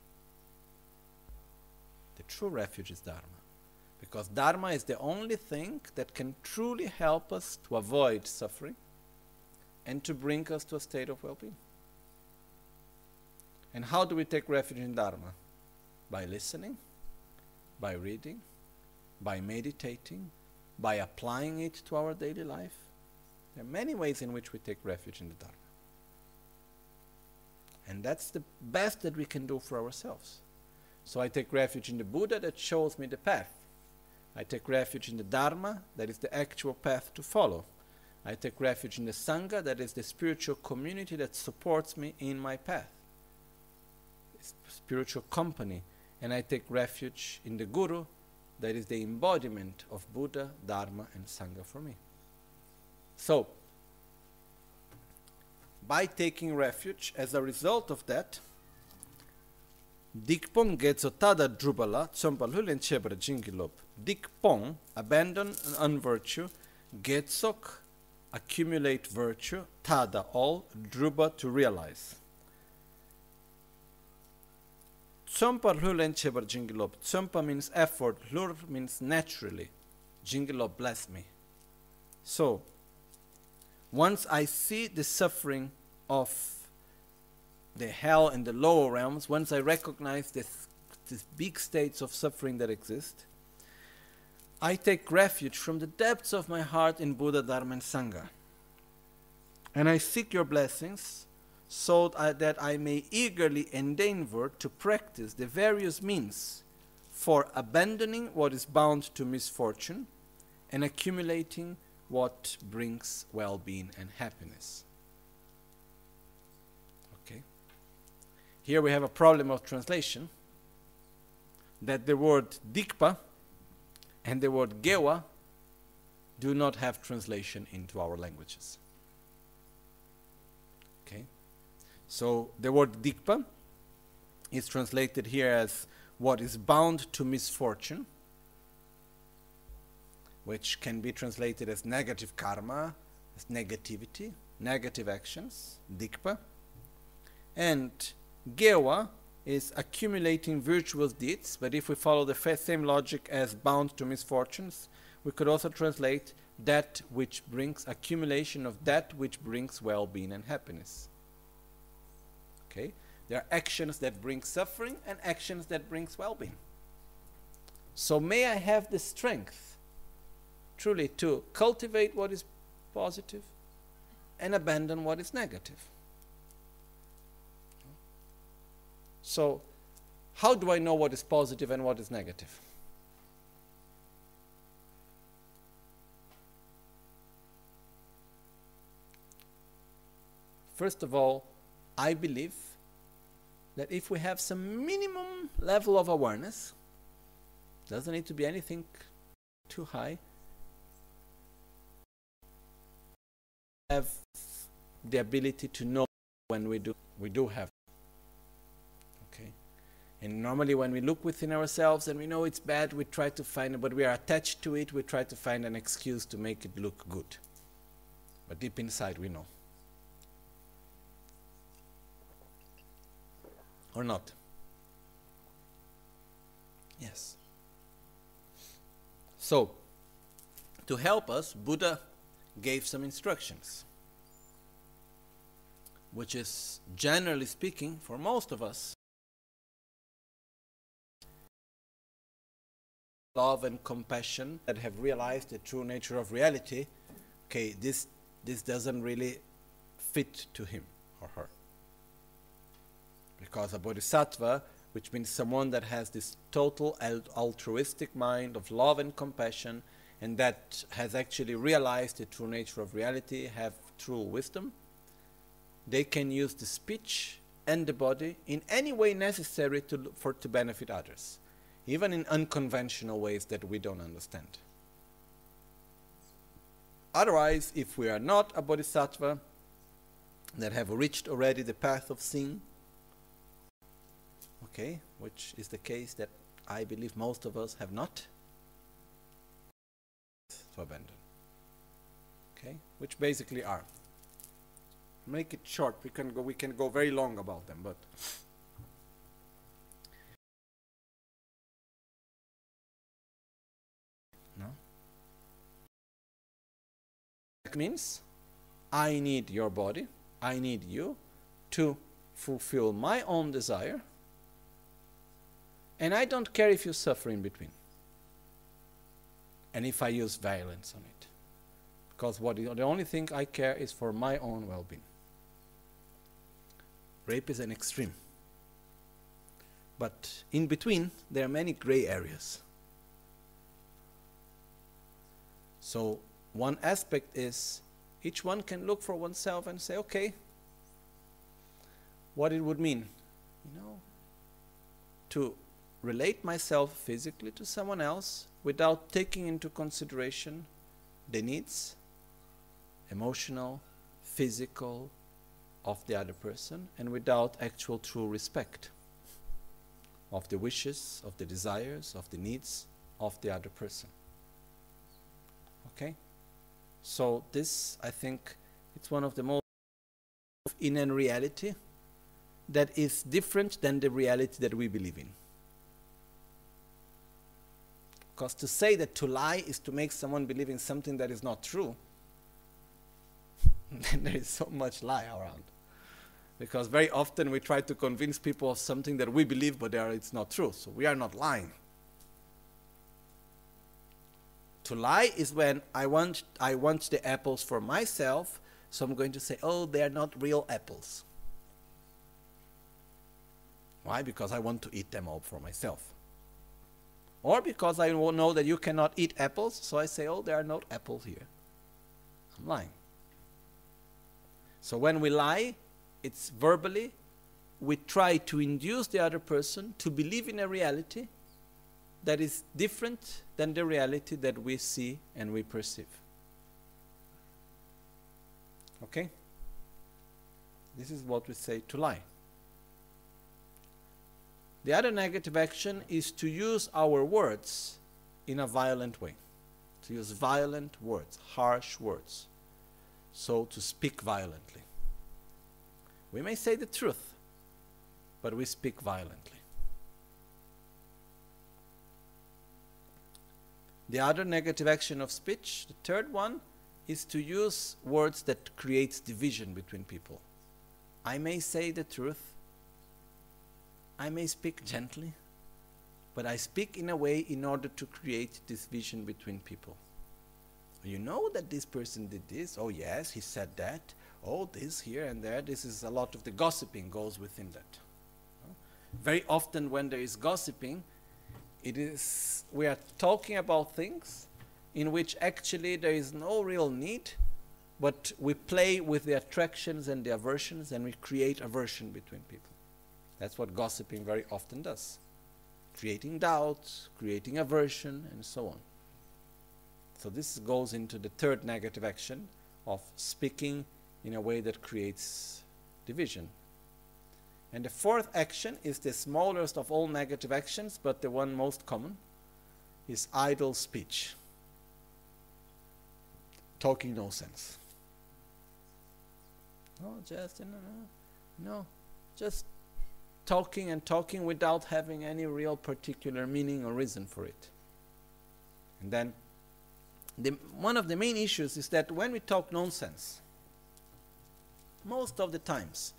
The true refuge is Dharma. Because Dharma is the only thing that can truly help us to avoid suffering and to bring us to a state of well-being. And how do we take refuge in Dharma? By listening, by reading, by meditating, by applying it to our daily life. There are many ways in which we take refuge in the Dharma. And that's the best that we can do for ourselves. So I take refuge in the Buddha that shows me the path. I take refuge in the Dharma, that is the actual path to follow. I take refuge in the Sangha, that is the spiritual community that supports me in my path. Spiritual company. And I take refuge in the Guru, that is the embodiment of Buddha, Dharma, and Sangha for me. So, by taking refuge, as a result of that, Dikpong getso tada drubala tsompal hulen chebra jingilop. Dikpong, abandon an unvirtue, getsok, accumulate virtue, tada, all, druba, to realize. Tsompa hulen chebra jingilop. Tsompa means effort, lur means naturally. Jingilop, bless me. So, once I see the suffering of the hell and the lower realms, once I recognize these big states of suffering that exist, I take refuge from the depths of my heart in Buddha, Dharma, and Sangha. And I seek your blessings so that I may eagerly endeavor to practice the various means for abandoning what is bound to misfortune and accumulating what brings well-being and happiness. Okay. Here we have a problem of translation, that the word dikpa and the word gewa do not have translation into our languages. Okay. So the word dikpa is translated here as what is bound to misfortune, which can be translated as negative karma, as negativity, negative actions, dikpa. And gewa is accumulating virtuous deeds, but if we follow the same logic as bound to misfortunes, we could also translate that which brings accumulation of that which brings well-being and happiness. Okay? There are actions that bring suffering and actions that brings well-being. So may I have the strength truly to cultivate what is positive and abandon what is negative. So, how do I know what is positive and what is negative? First of all, I believe that if we have some minimum level of awareness, doesn't need to be anything too high, have the ability to know when we do have. Okay, and normally when we look within ourselves and we know it's bad, we try to find it, but we are attached to it, we try to find an excuse to make it look good. But deep inside we know. Or not? Yes. So, to help us, Buddha gave some instructions, which is, generally speaking, for most of us, love and compassion that have realized the true nature of reality. Okay, this doesn't really fit to him or her. Because a bodhisattva, which means someone that has this total altruistic mind of love and compassion, and that has actually realized the true nature of reality, have true wisdom, they can use the speech and the body in any way necessary to benefit others, even in unconventional ways that we don't understand. Otherwise, if we are not a bodhisattva that have reached already the path of seeing, okay, which is the case that I believe most of us have not to abandon. Okay, which basically are. Make it short. We can go very long about them, but no. That means I need your body, I need you to fulfill my own desire, and I don't care if you suffer in between. And if I use violence on it. Because the only thing I care is for my own well-being. Rape is an extreme. But in between, there are many gray areas. So one aspect is each one can look for oneself and say, okay, what it would mean, to relate myself physically to someone else without taking into consideration the needs, emotional, physical, of the other person, and without actual true respect of the wishes, of the desires, of the needs of the other person. Okay? So this, I think, it's one of the most in a reality that is different than the reality that we believe in. Because to say that to lie is to make someone believe in something that is not true, then there is so much lie around. Because very often we try to convince people of something that we believe, but it's not true. So we are not lying. To lie is when I want the apples for myself, so I'm going to say, oh, they are not real apples. Why? Because I want to eat them all for myself. Or because I know that you cannot eat apples, so I say, oh, there are no apples here. I'm lying. So when we lie, it's verbally, we try to induce the other person to believe in a reality that is different than the reality that we see and we perceive. Okay? This is what we say to lie. The other negative action is to use our words in a violent way. To use violent words, harsh words. So to speak violently. We may say the truth, but we speak violently. The other negative action of speech, the third one, is to use words that creates division between people. I may say the truth, I may speak gently, but I speak in a way in order to create division between people. You know that this person did this, oh yes, he said that, oh this here and there, this is a lot of the gossiping goes within that. Very often when there is gossiping, we are talking about things in which actually there is no real need, but we play with the attractions and the aversions and we create aversion between people. That's what gossiping very often does. Creating doubt, creating aversion, and so on. So this goes into the third negative action of speaking in a way that creates division. And the fourth action is the smallest of all negative actions, but the one most common, is idle speech. Talking no sense. Just talking and talking without having any real particular meaning or reason for it. And then one of the main issues is that when we talk nonsense, most of the times,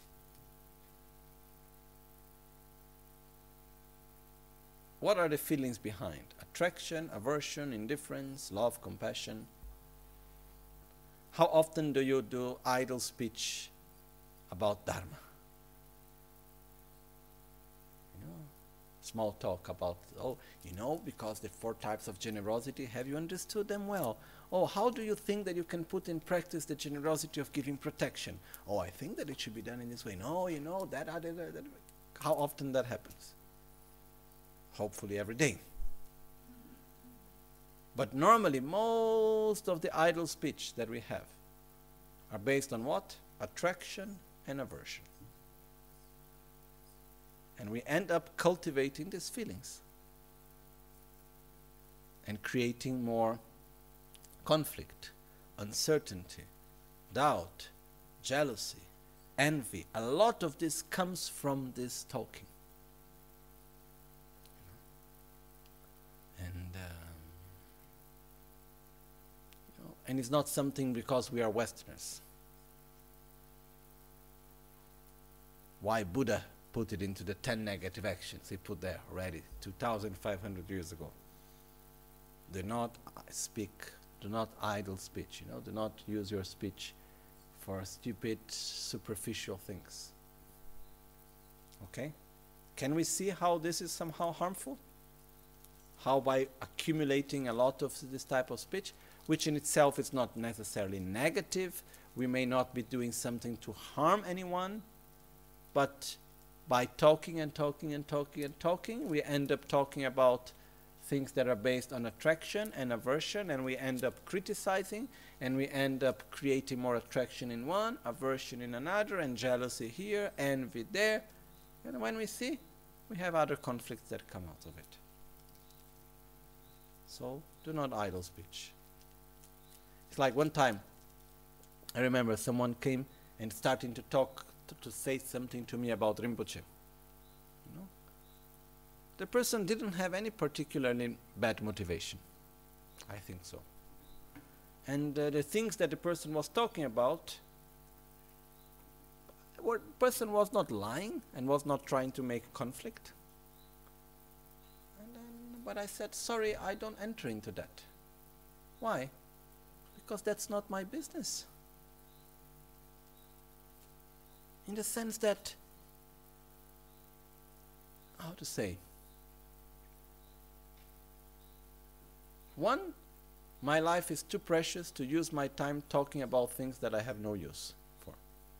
what are the feelings behind? Attraction, aversion, indifference, love, compassion. How often do you do idle speech about Dharma? Small talk about, because the 4 types of generosity, have you understood them well? Oh, how do you think that you can put in practice the generosity of giving protection? Oh, I think that it should be done in this way. No, that. How often that happens? Hopefully every day. But normally, most of the idle speech that we have are based on what? Attraction and aversion. And we end up cultivating these feelings. and creating more conflict, uncertainty, doubt, jealousy, envy. A lot of this comes from this talking. And it's not something because we are Westerners. Why Buddha put it into the 10 negative actions he put there already 2,500 years ago. Do not speak, do not idle speech, do not use your speech for stupid, superficial things. Okay? Can we see how this is somehow harmful? How by accumulating a lot of this type of speech, which in itself is not necessarily negative, we may not be doing something to harm anyone, but by talking and talking and talking and talking, we end up talking about things that are based on attraction and aversion, and we end up criticizing, and we end up creating more attraction in one, aversion in another, and jealousy here, envy there. And when we see, we have other conflicts that come out of it. So, do not idle speech. It's like one time, I remember someone came and starting to talk, to say something to me about Rinpoche. The person didn't have any particularly bad motivation. I think so. And the things that the person was talking about, the person was not lying and was not trying to make conflict. But I said, sorry, I don't enter into that. Why? Because that's not my business. In the sense that, how to say, one, my life is too precious to use my time talking about things that I have no use for.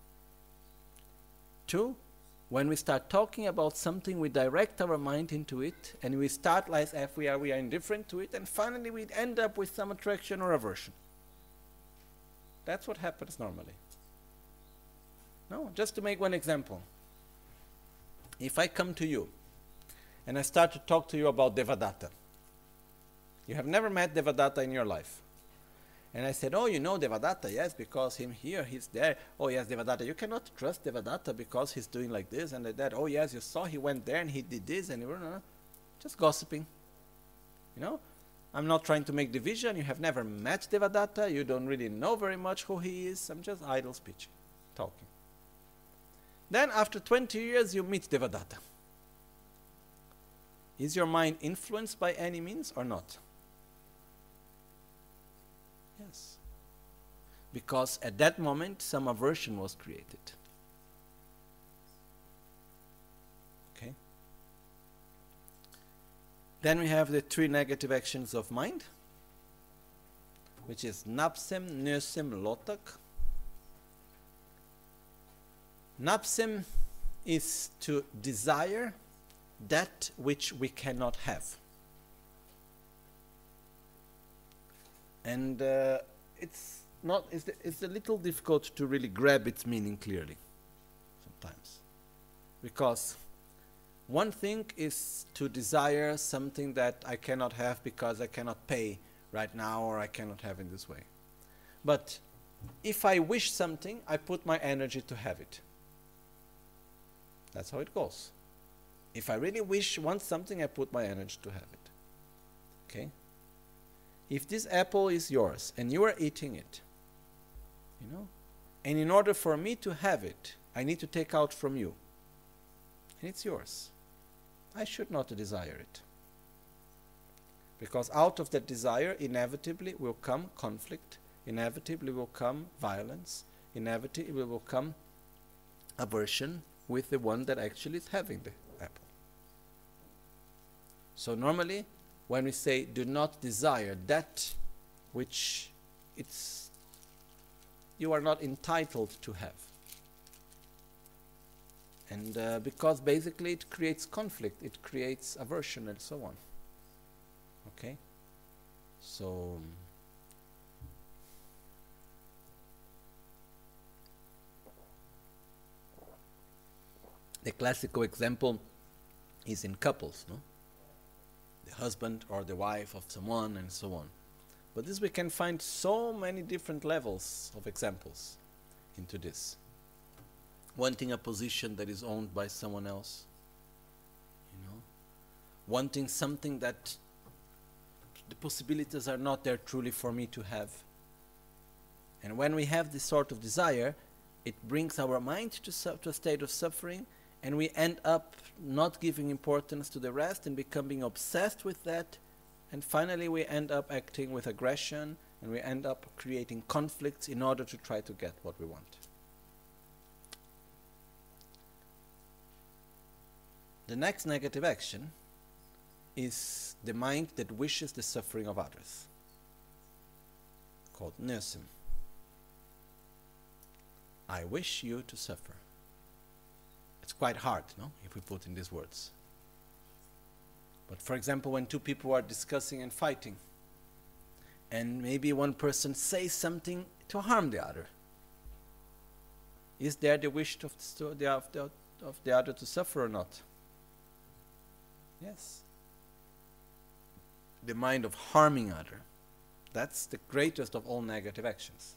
Two, when we start talking about something, we direct our mind into it, and we start like if we are indifferent to it, and finally we end up with some attraction or aversion. That's what happens normally. No, just to make one example. If I come to you, and I start to talk to you about Devadatta. You have never met Devadatta in your life. And I said, oh, you know Devadatta, yes, because him here, he's there. Oh, yes, Devadatta. You cannot trust Devadatta because he's doing like this and like that. Oh, yes, you saw he went there and he did this and just gossiping. I'm not trying to make division. You have never met Devadatta. You don't really know very much who he is. I'm just idle speech, talking. Then after 20 years, you meet Devadatta. Is your mind influenced by any means or not? Yes. Because at that moment, some aversion was created. Okay. Then we have the 3 negative actions of mind, which is napsim, nösim, lotak. Napsim is to desire that which we cannot have. And it's a little difficult to really grab its meaning clearly sometimes. Because one thing is to desire something that I cannot have because I cannot pay right now or I cannot have in this way. But if I wish something, I put my energy to have it. That's how it goes. If I really want something, I put my energy to have it. Okay? If this apple is yours and you are eating it, and in order for me to have it, I need to take out from you. And it's yours. I should not desire it. Because out of that desire, inevitably will come conflict, inevitably will come violence, inevitably will come aversion with the one that actually is having the apple. So normally, when we say do not desire that which you are not entitled to have. And because basically it creates conflict, it creates aversion and so on. Okay? So the classical example is in couples, no? the husband or the wife of someone, and so on. But this, we can find so many different levels of examples into this. Wanting a position that is owned by someone else, wanting something that the possibilities are not there truly for me to have. And when we have this sort of desire, it brings our mind to a state of suffering, and we end up not giving importance to the rest and becoming obsessed with that, and finally we end up acting with aggression, and we end up creating conflicts in order to try to get what we want. The next negative action is the mind that wishes the suffering of others, called Nøsim. I wish you to suffer. It's quite hard, no, if we put in these words. But for example, when two people are discussing and fighting, and maybe one person says something to harm the other, is there the wish of the other to suffer or not? Yes. The mind of harming other. That's the greatest of all negative actions.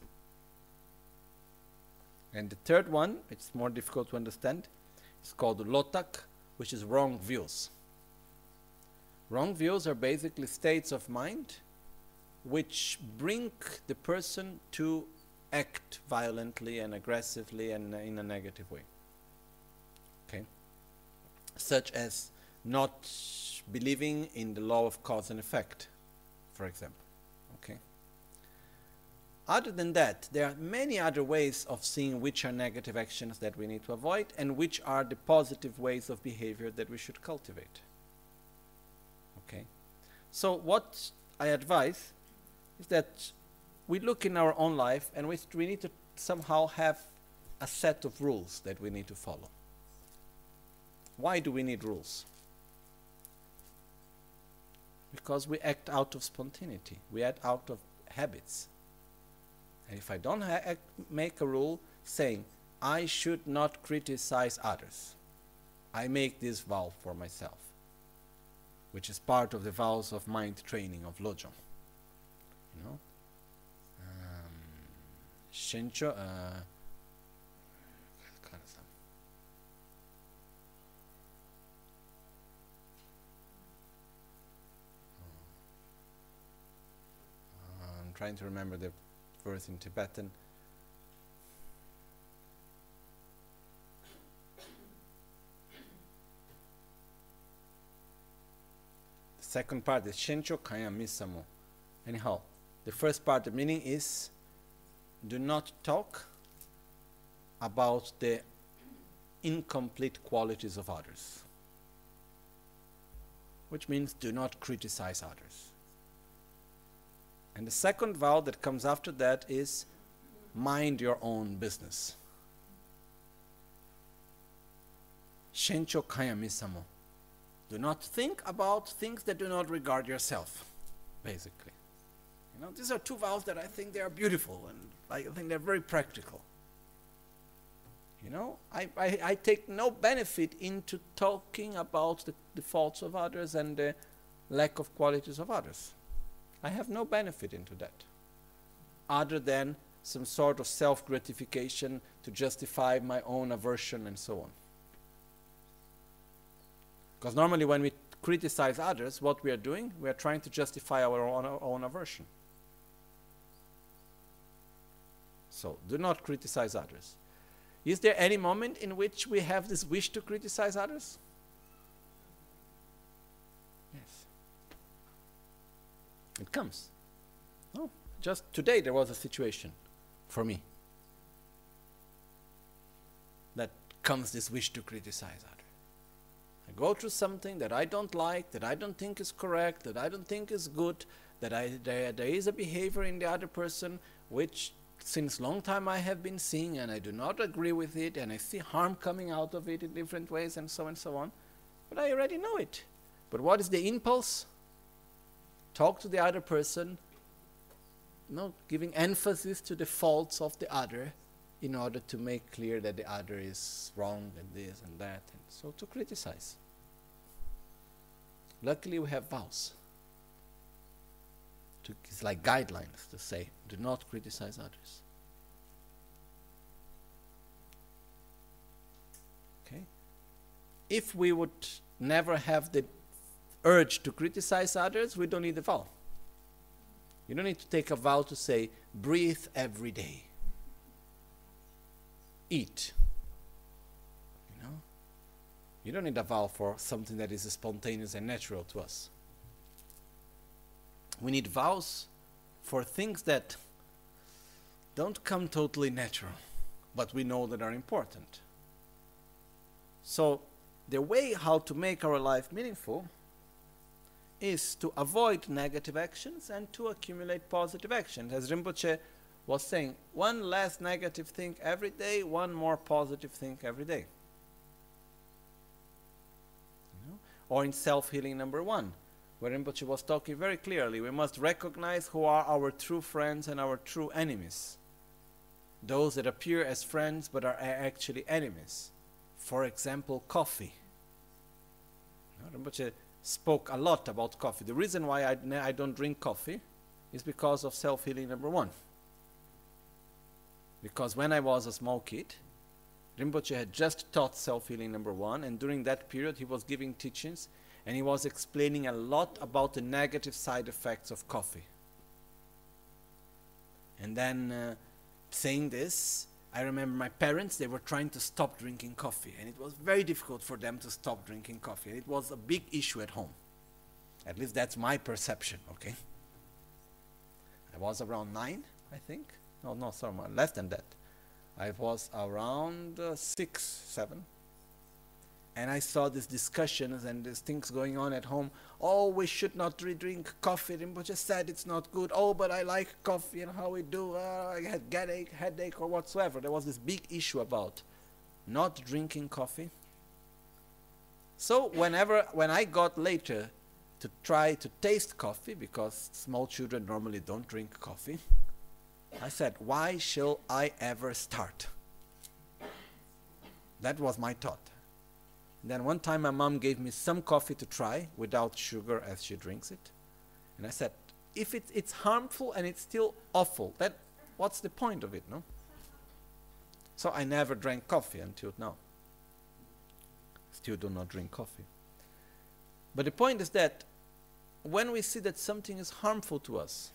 And the third one, it's more difficult to understand, it's called Lotak, which is wrong views. Wrong views are basically states of mind which bring the person to act violently and aggressively and in a negative way. Okay? Such as not believing in the law of cause and effect, for example. Okay? Other than that, there are many other ways of seeing which are negative actions that we need to avoid and which are the positive ways of behavior that we should cultivate. Okay? So what I advise is that we look in our own life and we need to somehow have a set of rules that we need to follow. Why do we need rules? Because we act out of spontaneity. We act out of habits. And if I don't make a rule saying, I should not criticize others, I make this vow for myself, which is part of the vows of mind training of Lojong. You know? Shencho, I'm trying to remember the verse in Tibetan. The second part is Shencho Kaya Misamo. Anyhow, the first part, the meaning is, do not talk about the incomplete qualities of others. Which means do not criticize others. And the second vow that comes after that is mind your own business. Shencho Kaya Misamo. Do not think about things that do not regard yourself, basically. You know, these are two vows that I think they are beautiful and I think they're very practical. You know, I take no benefit into talking about the faults of others and the lack of qualities of others. I have no benefit into that, other than some sort of self-gratification to justify my own aversion and so on. Because normally when we criticize others, what we are doing, we are trying to justify our own aversion. So, do not criticize others. Is there any moment in which we have this wish to criticize others? Yes. It comes. No, just today there was a situation for me that comes this wish to criticize others. I go through something that I don't like, that I don't think is correct, that I don't think is good, that there is a behavior in the other person which since long time I have been seeing and I do not agree with it and I see harm coming out of it in different ways and so on. But I already know it. But what is the impulse? Talk to the other person, giving emphasis to the faults of the other in order to make clear that the other is wrong and this and that, and so to criticize. Luckily, we have vows. It's like guidelines to say, do not criticize others. Okay? If we would never have the urge to criticize others, we don't need a vow. You don't need to take a vow to say, breathe every day. Eat. You know? You don't need a vow for something that is spontaneous and natural to us. We need vows for things that don't come totally natural, but we know that are important. So the way how to make our life meaningful is to avoid negative actions and to accumulate positive actions. As Rinpoche was saying, one less negative thing every day, one more positive thing every day. You know? Or in self-healing number 1, where Rinpoche was talking very clearly, we must recognize who are our true friends and our true enemies. Those that appear as friends but are actually enemies. For example, coffee. You know, Rinpoche spoke a lot about coffee. The reason why I don't drink coffee is because of self-healing number 1. Because when I was a small kid, Rinpoche had just taught self-healing number 1, and during that period he was giving teachings and he was explaining a lot about the negative side effects of coffee. And then saying this, I remember my parents, they were trying to stop drinking coffee, and it was very difficult for them to stop drinking coffee. And it was a big issue at home. At least that's my perception, okay? I was around 9, I think. No, sorry, less than that. I was around 6, 7. And I saw these discussions and these things going on at home. Oh, we should not drink coffee. Rinpoche said it's not good. Oh, but I like coffee and how we do. I had headache or whatsoever. There was this big issue about not drinking coffee. So when I got later to try to taste coffee, because small children normally don't drink coffee, I said, why shall I ever start? That was my thought. Then one time my mom gave me some coffee to try without sugar as she drinks it. And I said, if it's harmful and it's still awful, then what's the point of it, no? So I never drank coffee until now. Still do not drink coffee. But the point is that when we see that something is harmful to us,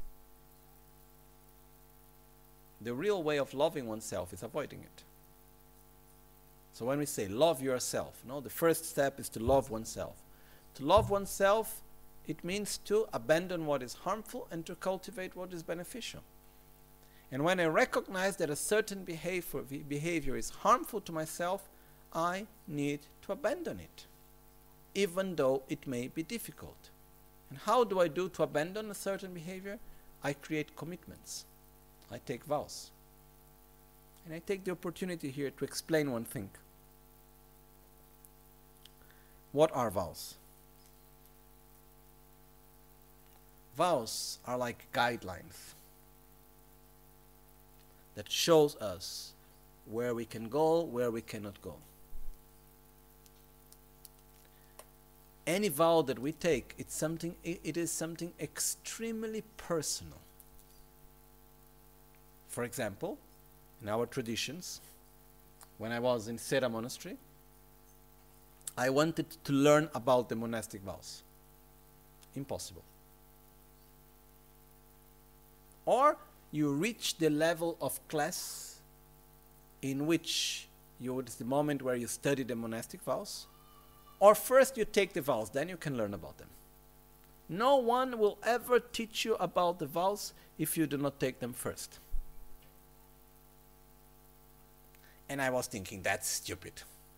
the real way of loving oneself is avoiding it. So when we say love yourself, no, the first step is to love oneself. To love oneself, it means to abandon what is harmful and to cultivate what is beneficial. And when I recognize that a certain behavior is harmful to myself, I need to abandon it, even though it may be difficult. And how do I do to abandon a certain behavior? I create commitments. I take vows. And I take the opportunity here to explain one thing. What are vows? Vows are like guidelines that shows us where we can go, where we cannot go. Any vow that we take, it is something extremely personal. For example, in our traditions, when I was in Sera Monastery, I wanted to learn about the monastic vows. Impossible. Or you reach the level of class in which it's the moment where you study the monastic vows, or first you take the vows, then you can learn about them. No one will ever teach you about the vows if you do not take them first. And I was thinking, that's stupid.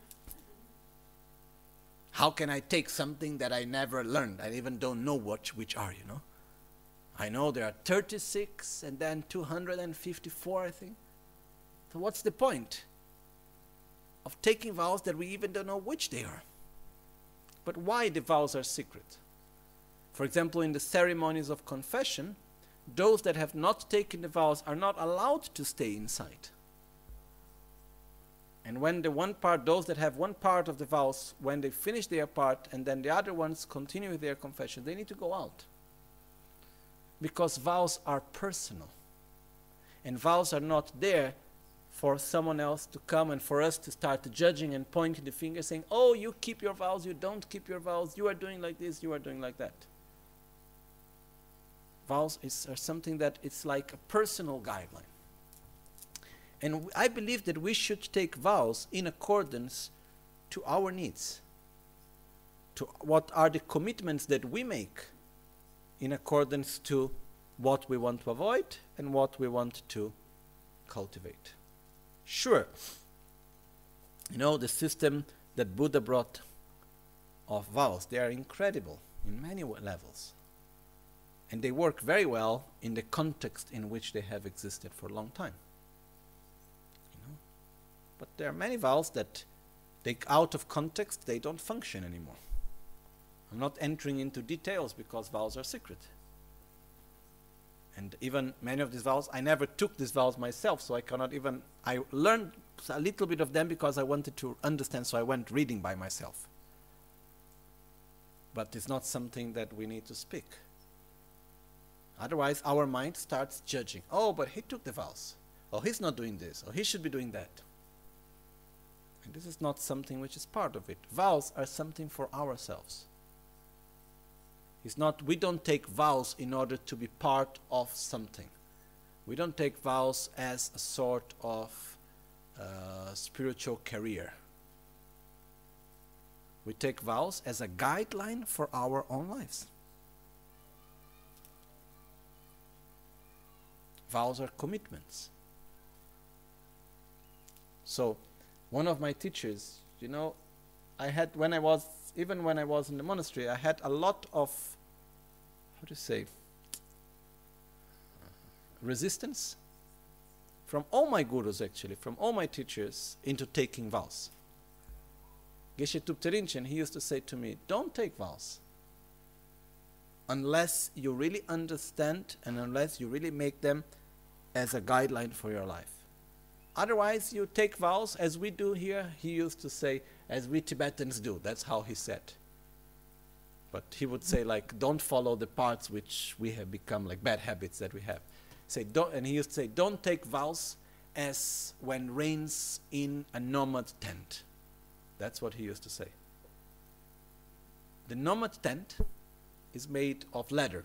How can I take something that I never learned? I even don't know which are, you know. I know there are 36 and then 254, I think. So what's the point of taking vows that we even don't know which they are? But why the vows are secret? For example, in the ceremonies of confession, those that have not taken the vows are not allowed to stay inside. And when the one part, those that have one part of the vows, when they finish their part and then the other ones continue with their confession, they need to go out. Because vows are personal. And vows are not there for someone else to come and for us to start judging and pointing the finger saying, oh, you keep your vows, you don't keep your vows, you are doing like this, you are doing like that. Vows are something that it's like a personal guideline. And I believe that we should take vows in accordance to our needs, to what are the commitments that we make in accordance to what we want to avoid and what we want to cultivate. Sure, you know, the system that Buddha brought of vows, they are incredible in many levels. And they work very well in the context in which they have existed for a long time. You know? But there are many vows that take out of context, they don't function anymore. I'm not entering into details because vows are secret. And even many of these vows, I never took these vows myself, so I cannot even, I learned a little bit of them because I wanted to understand, so I went reading by myself. But it's not something that we need to speak. Otherwise, our mind starts judging. Oh, but he took the vows. Oh, he's not doing this. Oh, he should be doing that. And this is not something which is part of it. Vows are something for ourselves. It's not, we don't take vows in order to be part of something. We don't take vows as a sort of spiritual career. We take vows as a guideline for our own lives. Vows are commitments. So, one of my teachers, you know, even when I was in the monastery, I had a lot of, how to say, resistance from all my gurus actually, from all my teachers into taking vows. Geshe Thupten Rinchen, he used to say to me, don't take vows unless you really understand and unless you really make them as a guideline for your life. Otherwise, you take vows as we do here. He used to say, as we Tibetans do. That's how he said. But he would say, like, don't follow the parts which we have become, like bad habits that we have. And he used to say, don't take vows as when rains in a nomad tent. That's what he used to say. The nomad tent is made of leather.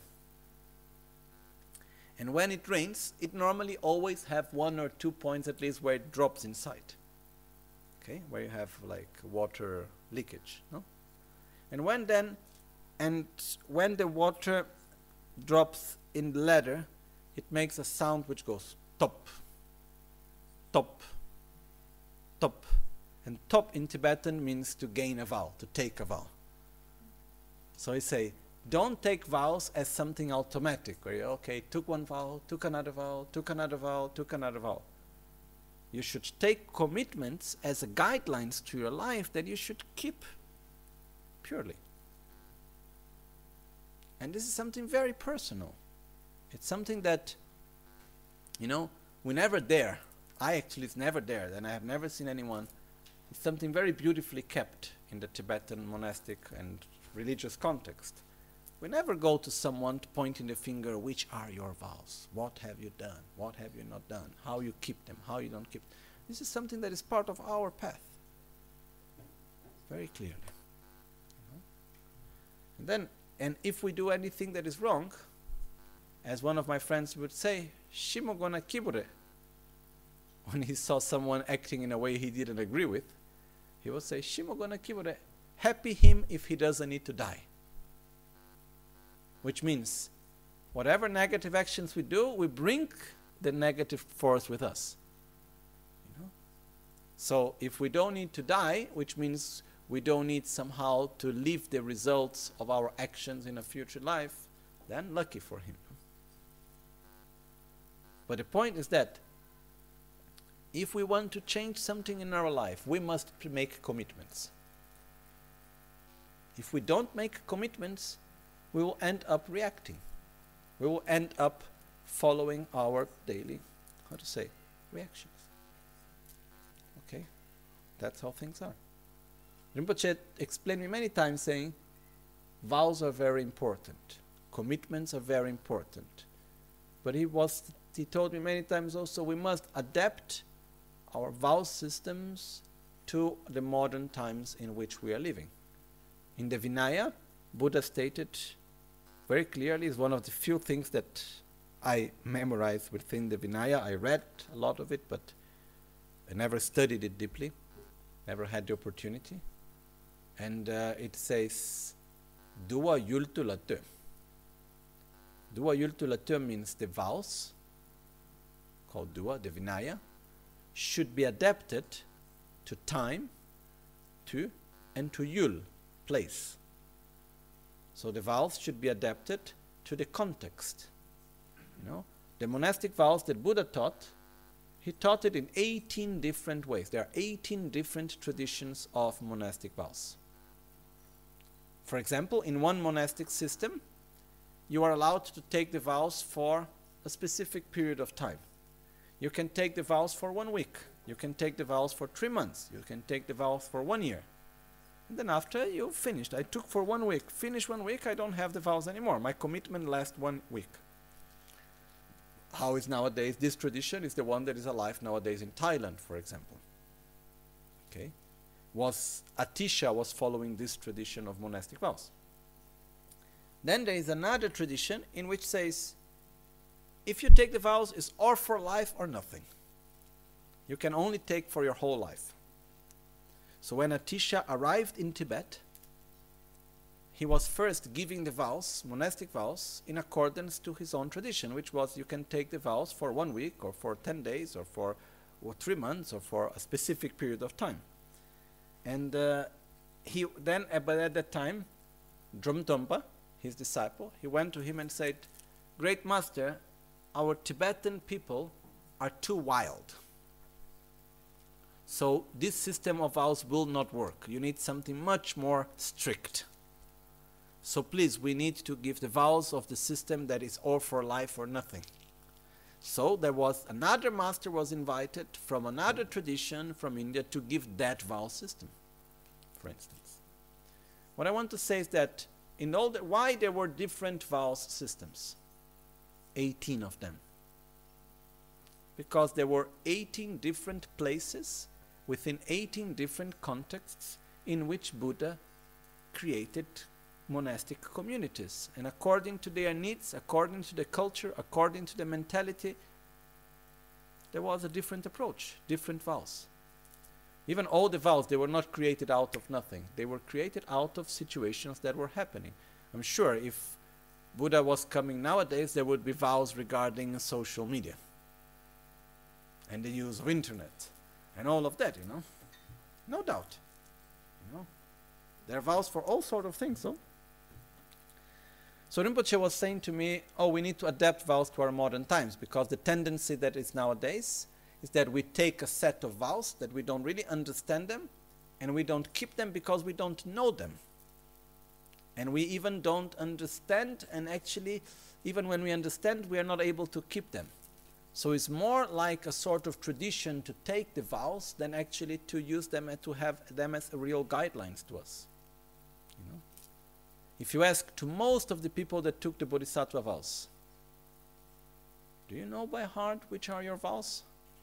And when it rains, it normally always have 1 or 2 points at least where it drops inside. Okay, where you have like water leakage. No? And when the water drops in the leather, it makes a sound which goes top, top, top. And top in Tibetan means to gain a vow, to take a vow. So I say, don't take vows as something automatic, where you, okay, took one vow, took another vow, took another vow, took another vow. You should take commitments as a guidelines to your life that you should keep purely. And this is something very personal. It's something that, you know, we never dare. I actually is never dared, and I have never seen anyone. It's something very beautifully kept in the Tibetan monastic and religious context. We never go to someone pointing the finger, which are your vows? What have you done? What have you not done? How you keep them? How you don't keep them? This is something that is part of our path. Very clearly. And if we do anything that is wrong, as one of my friends would say, Shimogona kibure. When he saw someone acting in a way he didn't agree with, he would say, Shimogona kibure. Happy him if he doesn't need to die. Which means, whatever negative actions we do, we bring the negative force with us. You know? So if we don't need to die, which means we don't need somehow to leave the results of our actions in a future life, then lucky for him. But the point is that if we want to change something in our life, we must make commitments. If we don't make commitments, we will end up reacting. We will end up following our daily, reactions. Okay? That's how things are. Rinpoche explained me many times saying, vows are very important. Commitments are very important. But he told me many times also, we must adapt our vow systems to the modern times in which we are living. In the Vinaya, Buddha stated very clearly, is one of the few things that I memorized within the Vinaya. I read a lot of it, but I never studied it deeply, never had the opportunity. And it says, Dua yultu latö. Dua yultu latö means the vows, called Dua, the Vinaya, should be adapted to time, and to yul, place. So the vows should be adapted to the context. The monastic vows that Buddha taught, he taught it in 18 different ways. There are 18 different traditions of monastic vows. For example, in one monastic system, you are allowed to take the vows for a specific period of time. You can take the vows for 1 week. You can take the vows for 3 months. You can take the vows for 1 year. And then after you've finished, I took for 1 week. Finish 1 week, I don't have the vows anymore. My commitment lasts 1 week. How is nowadays, this tradition is the one that is alive nowadays in Thailand, for example. Okay? Atisha was following this tradition of monastic vows. Then there is another tradition in which says, if you take the vows, it's or for life or nothing. You can only take for your whole life. So when Atisha arrived in Tibet, he was first giving the vows, monastic vows, in accordance to his own tradition, which was you can take the vows for 1 week or for 10 days or for 3 months or for a specific period of time. And but at that time, Dromtompa, his disciple, he went to him and said, Great Master, our Tibetan people are too wild. So this system of vows will not work. You need something much more strict. So please, we need to give the vows of the system that is all for life or nothing. So there was another master was invited from another tradition from India to give that vow system, for instance. What I want to say is that why there were different vows systems? 18 of them. Because there were 18 different places within 18 different contexts in which Buddha created monastic communities. And according to their needs, according to the culture, according to the mentality, there was a different approach, different vows. Even all the vows, they were not created out of nothing. They were created out of situations that were happening. I'm sure if Buddha was coming nowadays, there would be vows regarding social media and the use of internet and all of that, No doubt. There are vows for all sorts of things, So Rinpoche was saying to me, we need to adapt vows to our modern times, because the tendency that is nowadays is that we take a set of vows that we don't really understand them, and we don't keep them because we don't know them. And we even don't understand, and actually, even when we understand, we are not able to keep them. So it's more like a sort of tradition to take the vows than actually to use them and to have them as real guidelines to us. If you ask to most of the people that took the Bodhisattva vows, do you know by heart which are your vows?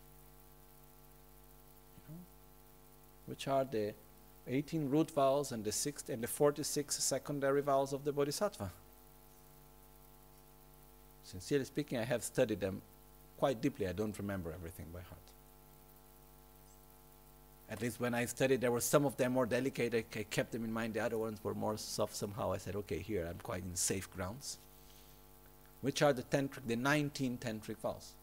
Which are the 18 root vows and the 46 secondary vows of the Bodhisattva? Sincerely speaking, I have studied them quite deeply. I don't remember everything by heart. At least when I studied, there were some of them more delicate. I kept them in mind. The other ones were more soft somehow. I said, okay, here I'm quite in safe grounds. Which are the 19 tantric vows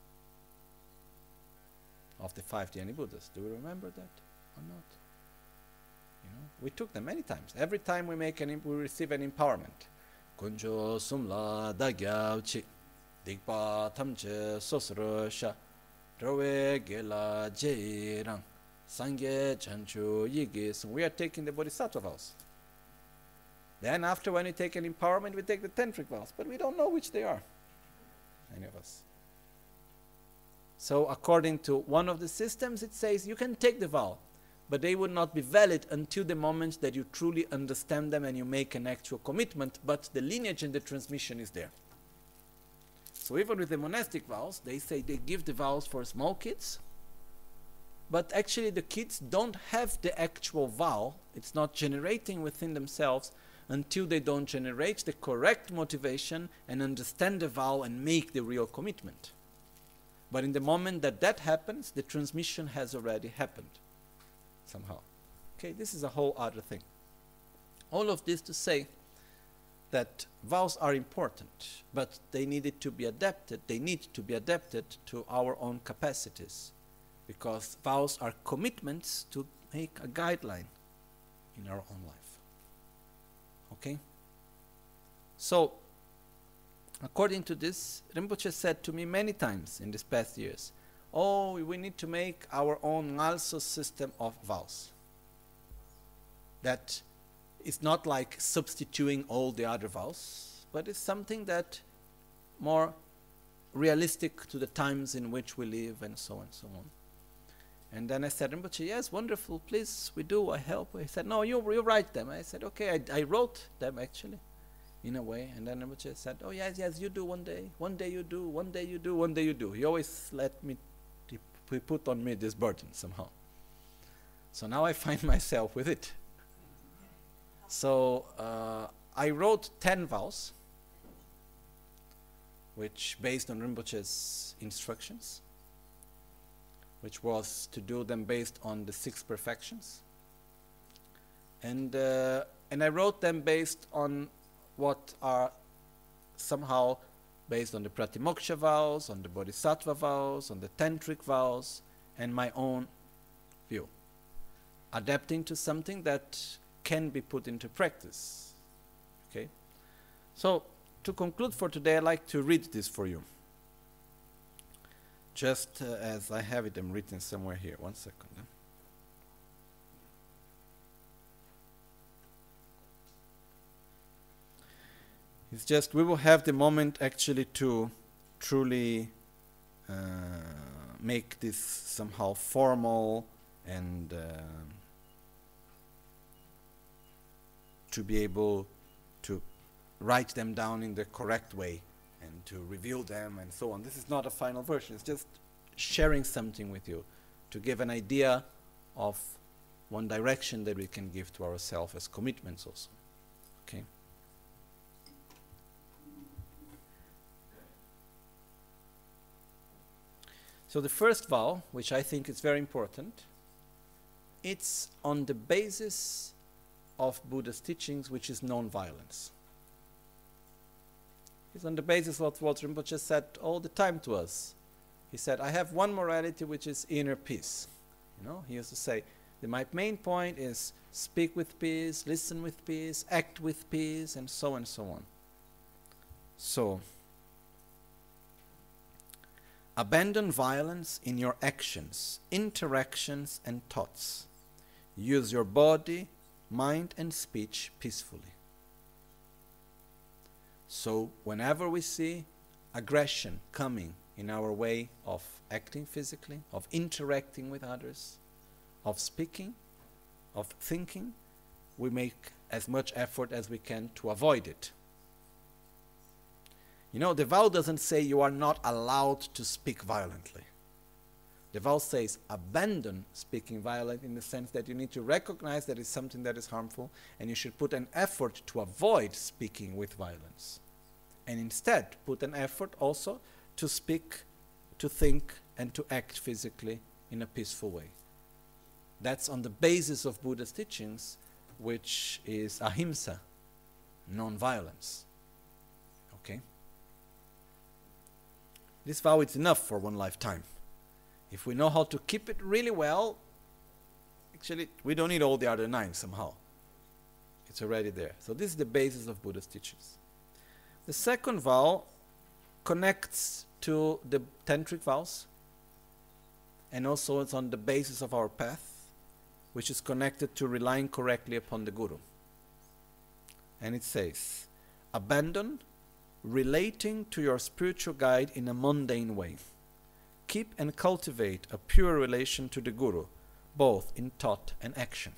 of the 5 Dhyani Buddhas? Do we remember that or not? We took them many times. Every time we receive an empowerment. Kunjo sumla dagyav chi digpa tamche sosro sha rowe gela jairang sangye chanchu yigis. We are taking the Bodhisattva vows. Then after, when we take an empowerment, we take the tantric vows, but we don't know which they are, any of us. So according to one of the systems, it says you can take the vow, but they would not be valid until the moment that you truly understand them and you make an actual commitment, but the lineage and the transmission is there. So even with the monastic vows, they say they give the vows for small kids, but actually the kids don't have the actual vow. It's not generating within themselves until they don't generate the correct motivation and understand the vow and make the real commitment. But in the moment that that happens, the transmission has already happened somehow. Okay, this is a whole other thing. All of this to say that vows are important, but they needed to be adapted. They need to be adapted to our own capacities, because vows are commitments to make a guideline in our own life. Okay? So, according to this, Rinpoche said to me many times in these past years, oh, we need to make our own Ngalso system of vows. That is not like substituting all the other vows, but it's something that more realistic to the times in which we live, and so on and so on. And then I said, Rinpoche, yes, wonderful, please, we do, I help. He said, no, you write them. I said, okay, I wrote them actually, in a way. And then Rinpoche said, oh yes, you do one day you do, one day you do, one day you do. He always let me, he put on me this burden somehow. So now I find myself with it. So I wrote 10 vows, which based on Rinpoche's instructions, which was to do them based on the 6 perfections. And I wrote them based on what are somehow based on the Pratimoksha vows, on the Bodhisattva vows, on the Tantric vows, and my own view, adapting to something that can be put into practice. Okay? So, to conclude for today, I'd like to read this for you. Just as I have it, I'm written somewhere here. 1 second. It's just, we will have the moment actually to truly make this somehow formal and to be able to write them down in the correct way and to reveal them and so on. This is not a final version, it's just sharing something with you to give an idea of one direction that we can give to ourselves as commitments also. Okay? So the first vow, which I think is very important, it's on the basis of Buddha's teachings, which is non-violence. It's on the basis of what Rinpoche said all the time to us. He said, I have one morality, which is inner peace. You know, he used to say, my main point is speak with peace, listen with peace, act with peace, and so on. So, abandon violence in your actions, interactions, and thoughts. Use your body, mind, and speech peacefully. So, whenever we see aggression coming in our way of acting physically, of interacting with others, of speaking, of thinking, we make as much effort as we can to avoid it. You know, the vow doesn't say you are not allowed to speak violently. The vow says abandon speaking violent, in the sense that you need to recognize that it's something that is harmful and you should put an effort to avoid speaking with violence. And instead put an effort also to speak, to think, and to act physically in a peaceful way. That's on the basis of Buddha's teachings, which is ahimsa, non-violence. Okay? This vow is enough for one lifetime. If we know how to keep it really well, actually we don't need all the other 9 somehow. It's already there. So this is the basis of Buddha's teachings. The second vow connects to the tantric vows, and also it's on the basis of our path, which is connected to relying correctly upon the Guru. And it says, abandon relating to your spiritual guide in a mundane way. Keep and cultivate a pure relation to the Guru, both in thought and action.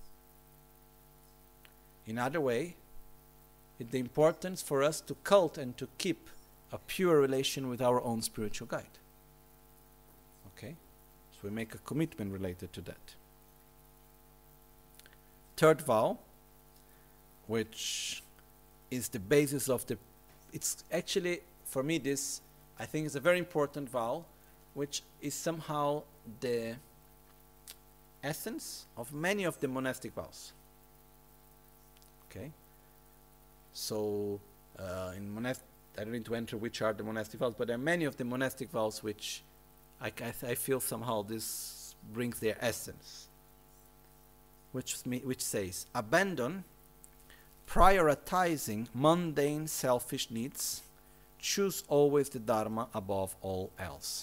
In other way, it's the importance for us to cultivate and to keep a pure relation with our own spiritual guide. Okay? So we make a commitment related to that. Third vow, which is the basis of the... It's actually, for me, this, I think, is a very important vow, which is somehow the essence of many of the monastic vows. Okay? So, in monastic, I don't need to enter which are the monastic vows, but there are many of the monastic vows which I feel somehow this brings their essence. Which says, abandon prioritizing mundane selfish needs, choose always the Dharma above all else.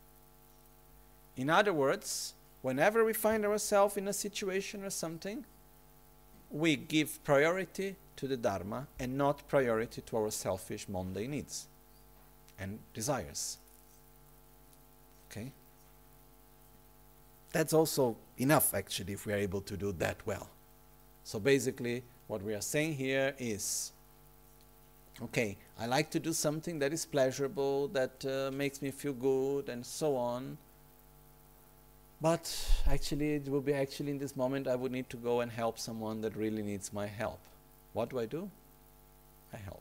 In other words, whenever we find ourselves in a situation or something, we give priority to the Dharma and not priority to our selfish mundane needs and desires. Okay? That's also enough, actually, if we are able to do that well. So basically, what we are saying here is, okay, I like to do something that is pleasurable, that makes me feel good, and so on. But actually, it will be actually in this moment I would need to go and help someone that really needs my help. What do? I help.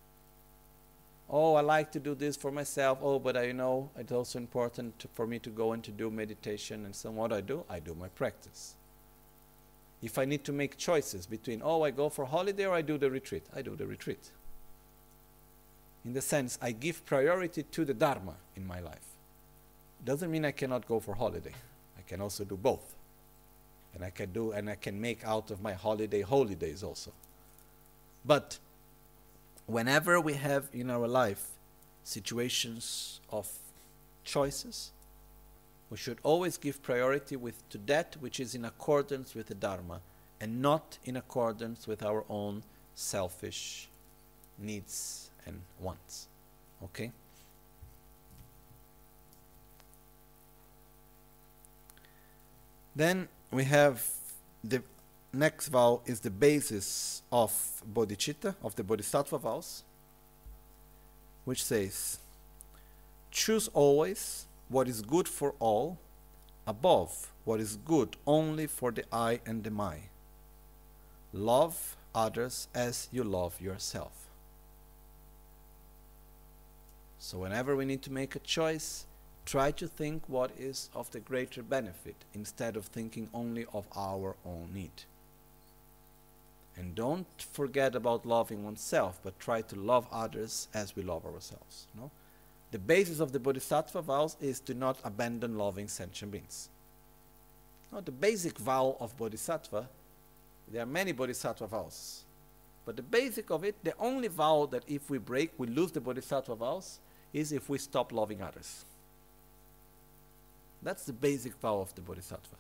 Oh, I like to do this for myself. Oh, but I know it's also important for me to go and to do meditation and so on. What do? I do my practice. If I need to make choices between, oh, I go for holiday or I do the retreat, I do the retreat. In the sense, I give priority to the Dharma in my life. Doesn't mean I cannot go for holiday. I can also do both. And I can make out of my holiday holidays also. But whenever we have in our life situations of choices, we should always give priority to that which is in accordance with the Dharma and not in accordance with our own selfish needs and wants. Okay? Then we have the next vow is the basis of bodhicitta, of the bodhisattva vows, which says, choose always what is good for all above what is good only for the I and the my. Love others as you love yourself. So whenever we need to make a choice, try to think what is of the greater benefit instead of thinking only of our own need. And don't forget about loving oneself, but try to love others as we love ourselves. No? The basis of the bodhisattva vows is to not abandon loving sentient beings. No, the basic vow of bodhisattva, there are many bodhisattva vows, but the basic of it, the only vow that if we break, we lose the bodhisattva vows, is if we stop loving others. That's the basic vow of the bodhisattva.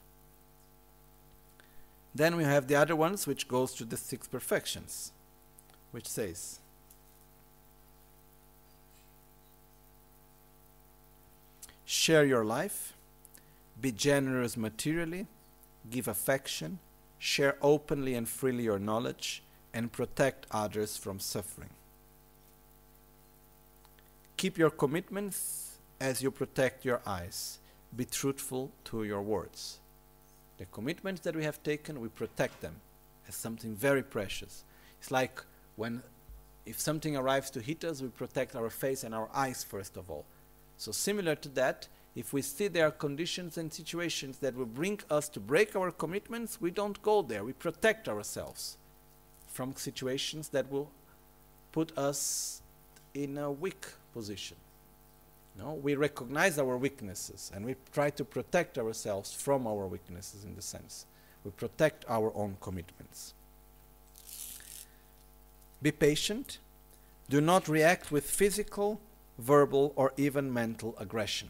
Then we have the other ones, which goes to the 6 perfections, which says, share your life, be generous materially, give affection, share openly and freely your knowledge, and protect others from suffering. Keep your commitments as you protect your eyes. Be truthful to your words. The commitments that we have taken, we protect them as something very precious. It's like if something arrives to hit us, we protect our face and our eyes first of all. So similar to that, if we see there are conditions and situations that will bring us to break our commitments, we don't go there. We protect ourselves from situations that will put us in a weak position. No, we recognize our weaknesses and we try to protect ourselves from our weaknesses in the sense. We protect our own commitments. Be patient. Do not react with physical, verbal, or even mental aggression.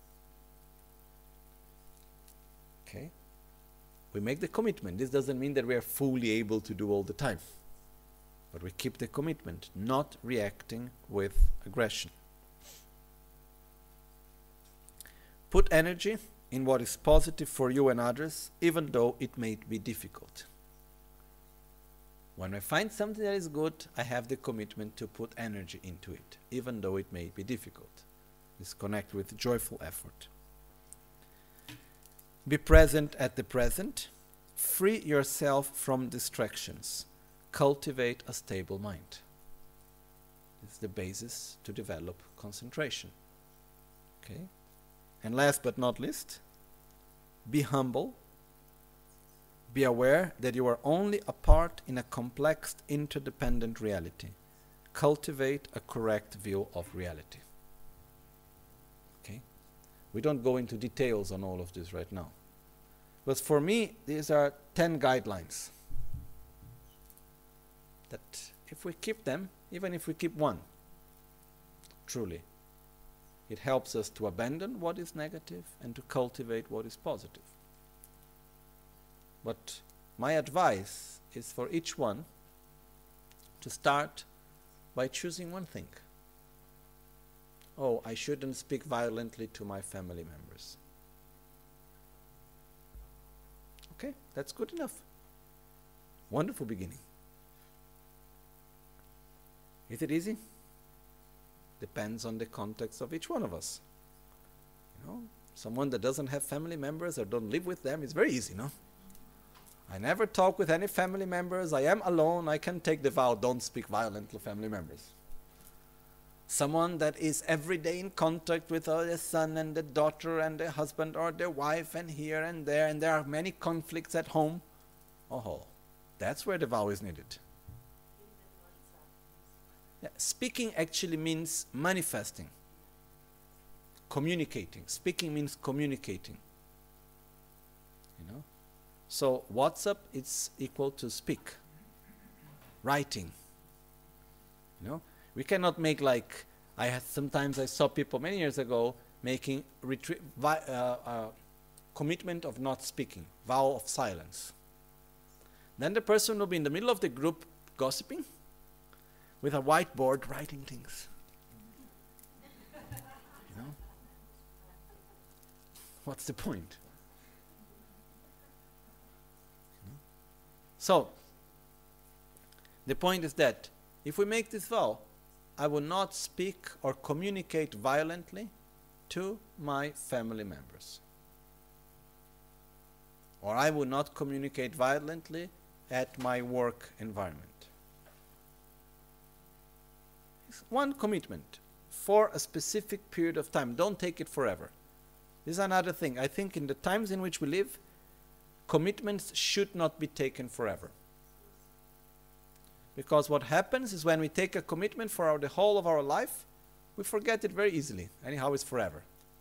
Okay? We make the commitment. This doesn't mean that we are fully able to do all the time. But we keep the commitment, not reacting with aggression. Put energy in what is positive for you and others, even though it may be difficult. When I find something that is good, I have the commitment to put energy into it, even though it may be difficult. This connects with joyful effort. Be present at the present. Free yourself from distractions. Cultivate a stable mind. This is the basis to develop concentration. Okay? And last but not least, be humble. Be aware that you are only a part in a complex, interdependent reality. Cultivate a correct view of reality. Okay? We don't go into details on all of this right now. But for me, these are 10 guidelines that if we keep them, even if we keep one, truly, it helps us to abandon what is negative and to cultivate what is positive. But my advice is for each one to start by choosing one thing. Oh, I shouldn't speak violently to my family members. Okay, that's good enough. Wonderful beginning. Is it easy? Depends on the context of each one of us. You know, someone that doesn't have family members or don't live with them is very easy, no? I never talk with any family members. I am alone. I can take the vow, don't speak violently to family members. Someone that is every day in contact with their son and the daughter and their husband or their wife and here and there are many conflicts at home. Oh, that's where the vow is needed. Yeah, speaking actually means manifesting, communicating. Speaking means communicating. You know? So WhatsApp is equal to speak. Writing. You know? We cannot make like, sometimes I saw people many years ago making commitment of not speaking, vow of silence. Then the person will be in the middle of the group gossiping with a whiteboard writing things. You know? What's the point? So, the point is that if we make this vow, I will not speak or communicate violently to my family members. Or I will not communicate violently at my work environment. It's one commitment for a specific period of time. Don't take it forever. This is another thing. I think in the times in which we live, commitments should not be taken forever. Because what happens is when we take a commitment for the whole of our life, we forget it very easily. Anyhow, it's forever.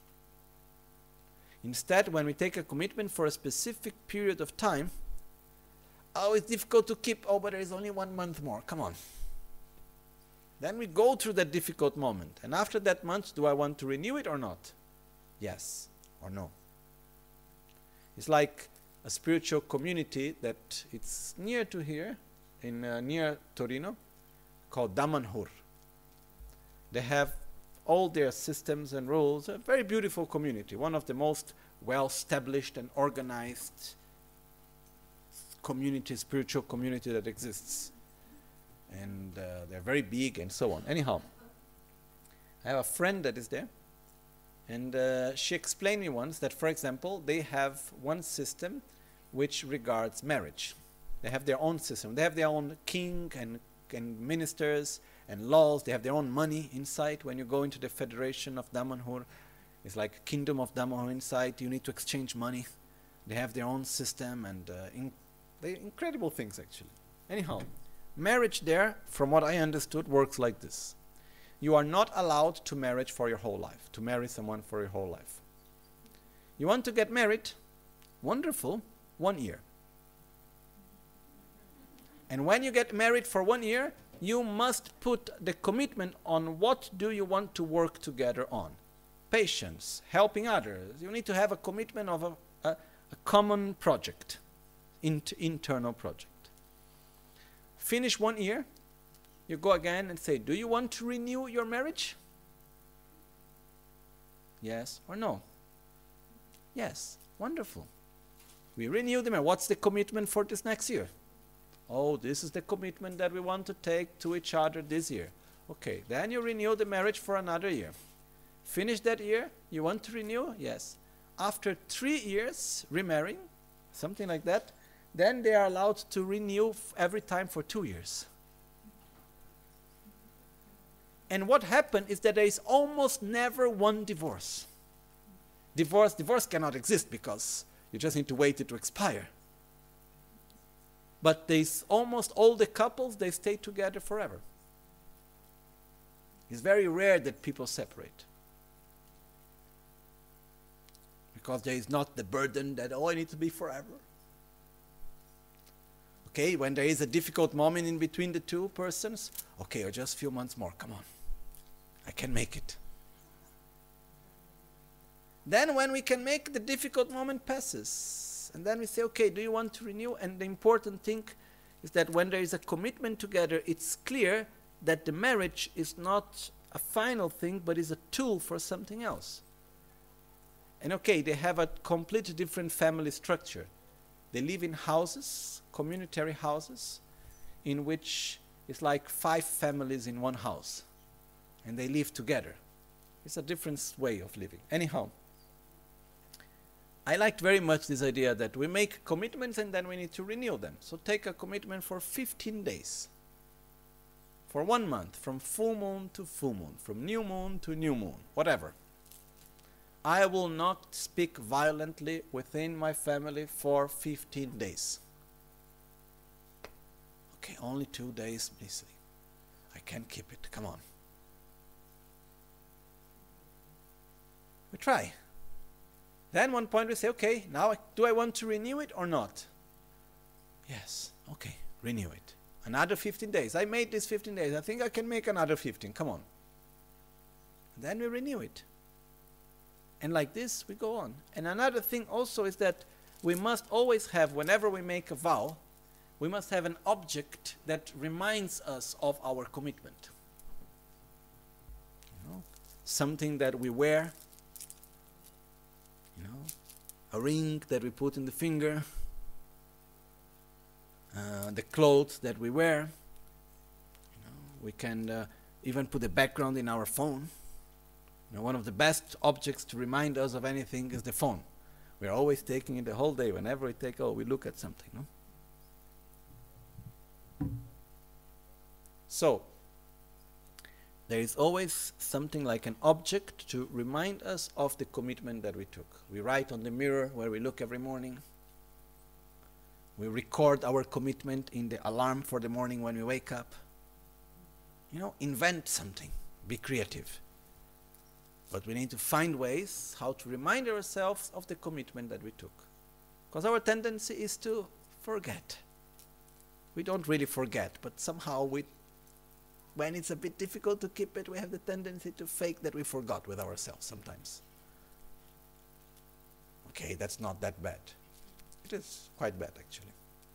Instead, when we take a commitment for a specific period of time, oh, it's difficult to keep. Oh, but there is only 1 month more. Come on. Then we go through that difficult moment. And after that month, do I want to renew it or not? Yes or no. It's like a spiritual community that it's near to here, in near Torino, called Damanhur. They have all their systems and rules. A very beautiful community, one of the most well-established and organized community, spiritual community that exists. And they're very big and so on. Anyhow, I have a friend that is there, and she explained me once that, for example, they have one system which regards marriage. They have their own system. They have their own king and ministers and laws. They have their own money inside. When you go into the Federation of Damanhur, it's like Kingdom of Damanhur inside. You need to exchange money. They have their own system and incredible things actually. Anyhow, marriage there, from what I understood, works like this. You are not allowed to marry for your whole life, to marry someone for your whole life. You want to get married? Wonderful, 1 year. And when you get married for 1 year, you must put the commitment on what do you want to work together on. Patience, helping others. You need to have a commitment of a common project, internal project. Finish 1 year, you go again and say, do you want to renew your marriage? Yes or no? Yes, wonderful. We renew the marriage. What's the commitment for this next year? Oh, this is the commitment that we want to take to each other this year. Okay, then you renew the marriage for another year. Finish that year, you want to renew? Yes. After 3 years remarrying, something like that, then they are allowed to renew every time for 2 years. And what happened is that there is almost never one divorce. Divorce cannot exist because you just need to wait it to expire. But there's almost all the couples, they stay together forever. It's very rare that people separate. Because there is not the burden that, oh, I need to be forever. Okay, when there is a difficult moment in between the two persons, okay, or just a few months more, come on. I can make it. Then when we can make, the difficult moment passes. And then we say, okay, do you want to renew? And the important thing is that when there is a commitment together, it's clear that the marriage is not a final thing, but is a tool for something else. And okay, they have a completely different family structure. They live in houses, communitary houses, in which it's like 5 families in one house. And they live together. It's a different way of living. Anyhow, I liked very much this idea that we make commitments and then we need to renew them. So take a commitment for 15 days. For 1 month, from full moon to full moon, from new moon to new moon, whatever. I will not speak violently within my family for 15 days. Okay, only 2 days, please. I can't keep it, come on. We try. Then one point we say, okay, now do I want to renew it or not? Yes, okay, renew it. Another 15 days. I made this 15 days. I think I can make another 15. Come on. Then we renew it. And like this, we go on. And another thing also is that we must always have, whenever we make a vow, we must have an object that reminds us of our commitment. You know, something that we wear. You know, a ring that we put in the finger, the clothes that we wear. You know, we can even put a background in our phone. You know, one of the best objects to remind us of anything is the phone. We are always taking it the whole day. Whenever we take, we look at something. No? So, there is always something like an object to remind us of the commitment that we took. We write on the mirror where we look every morning. We record our commitment in the alarm for the morning when we wake up. You know, invent something. Be creative. But we need to find ways how to remind ourselves of the commitment that we took. Because our tendency is to forget. We don't really forget, but somehow when it's a bit difficult to keep it, we have the tendency to fake that we forgot with ourselves sometimes. Okay, that's not that bad. It is quite bad, actually.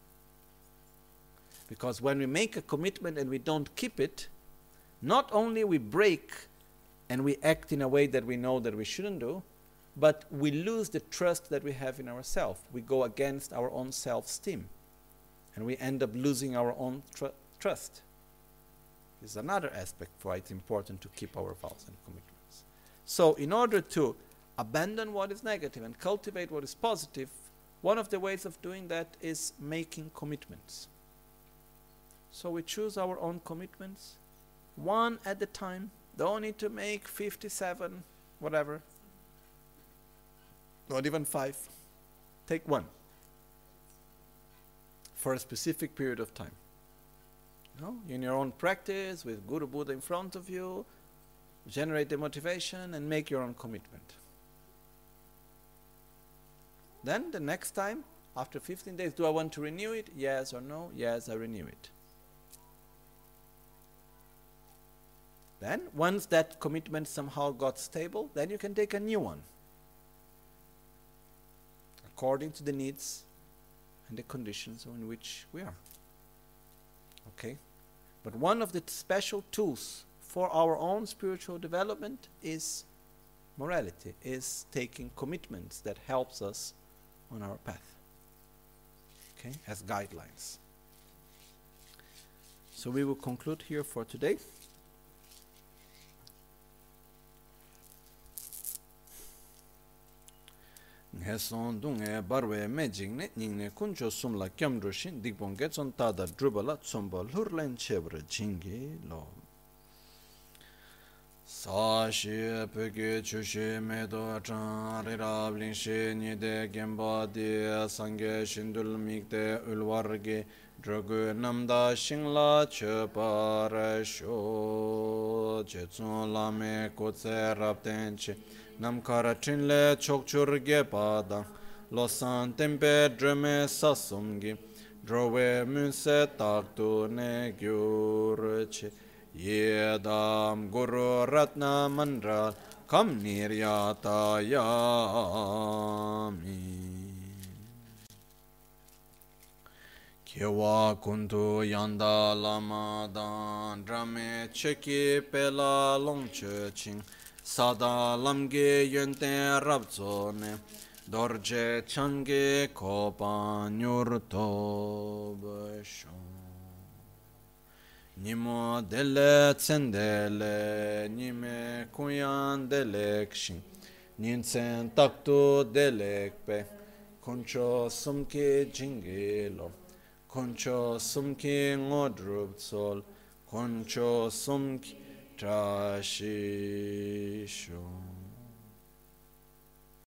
Because when we make a commitment and we don't keep it, not only we break and we act in a way that we know that we shouldn't do, but we lose the trust that we have in ourselves. We go against our own self-esteem. And we end up losing our own trust. This is another aspect why it's important to keep our vows and commitments. So in order to abandon what is negative and cultivate what is positive, one of the ways of doing that is making commitments. So we choose our own commitments, one at a time. Don't need to make 57, whatever. Not even 5. Take one. For a specific period of time. No? In your own practice, with Guru Buddha in front of you, generate the motivation and make your own commitment. Then the next time, after 15 days, do I want to renew it? Yes or no? Yes, I renew it. Then, once that commitment somehow got stable, then you can take a new one. According to the needs and the conditions in which we are. Okay? But one of the special tools for our own spiritual development is Morality is taking commitments that helps us on our path, okay, as guidelines. So we will conclude here for today. Nge son du nge barwe me jingne ningne kuncho sumla kyamdru shin dikpon ge chon tada drubala tsomba lurlen chebra jingi lo. Sa shi peke chushi me do chan rirab lin shi nide gemba di sangye shindul mikde ulwarge drogu namda shingla chepara sho che tsun lame kutse rabten che namkara chinle chokchurge padang losan tempe drume sasumgi drowe munse taktu ne gyurche yedam guru ratna mandra kam niryata yami Kyewa kuntu yanda lama dan drame cheki pela longche ching sada lamge yente rabzone dorje change kopa nyurto bashon Nimo dele tsendele nime kuyan delekshin ninsen taktu delekpe koncho sumke jingelo koncho sumki ngodrup sol, koncho sumki trashisho.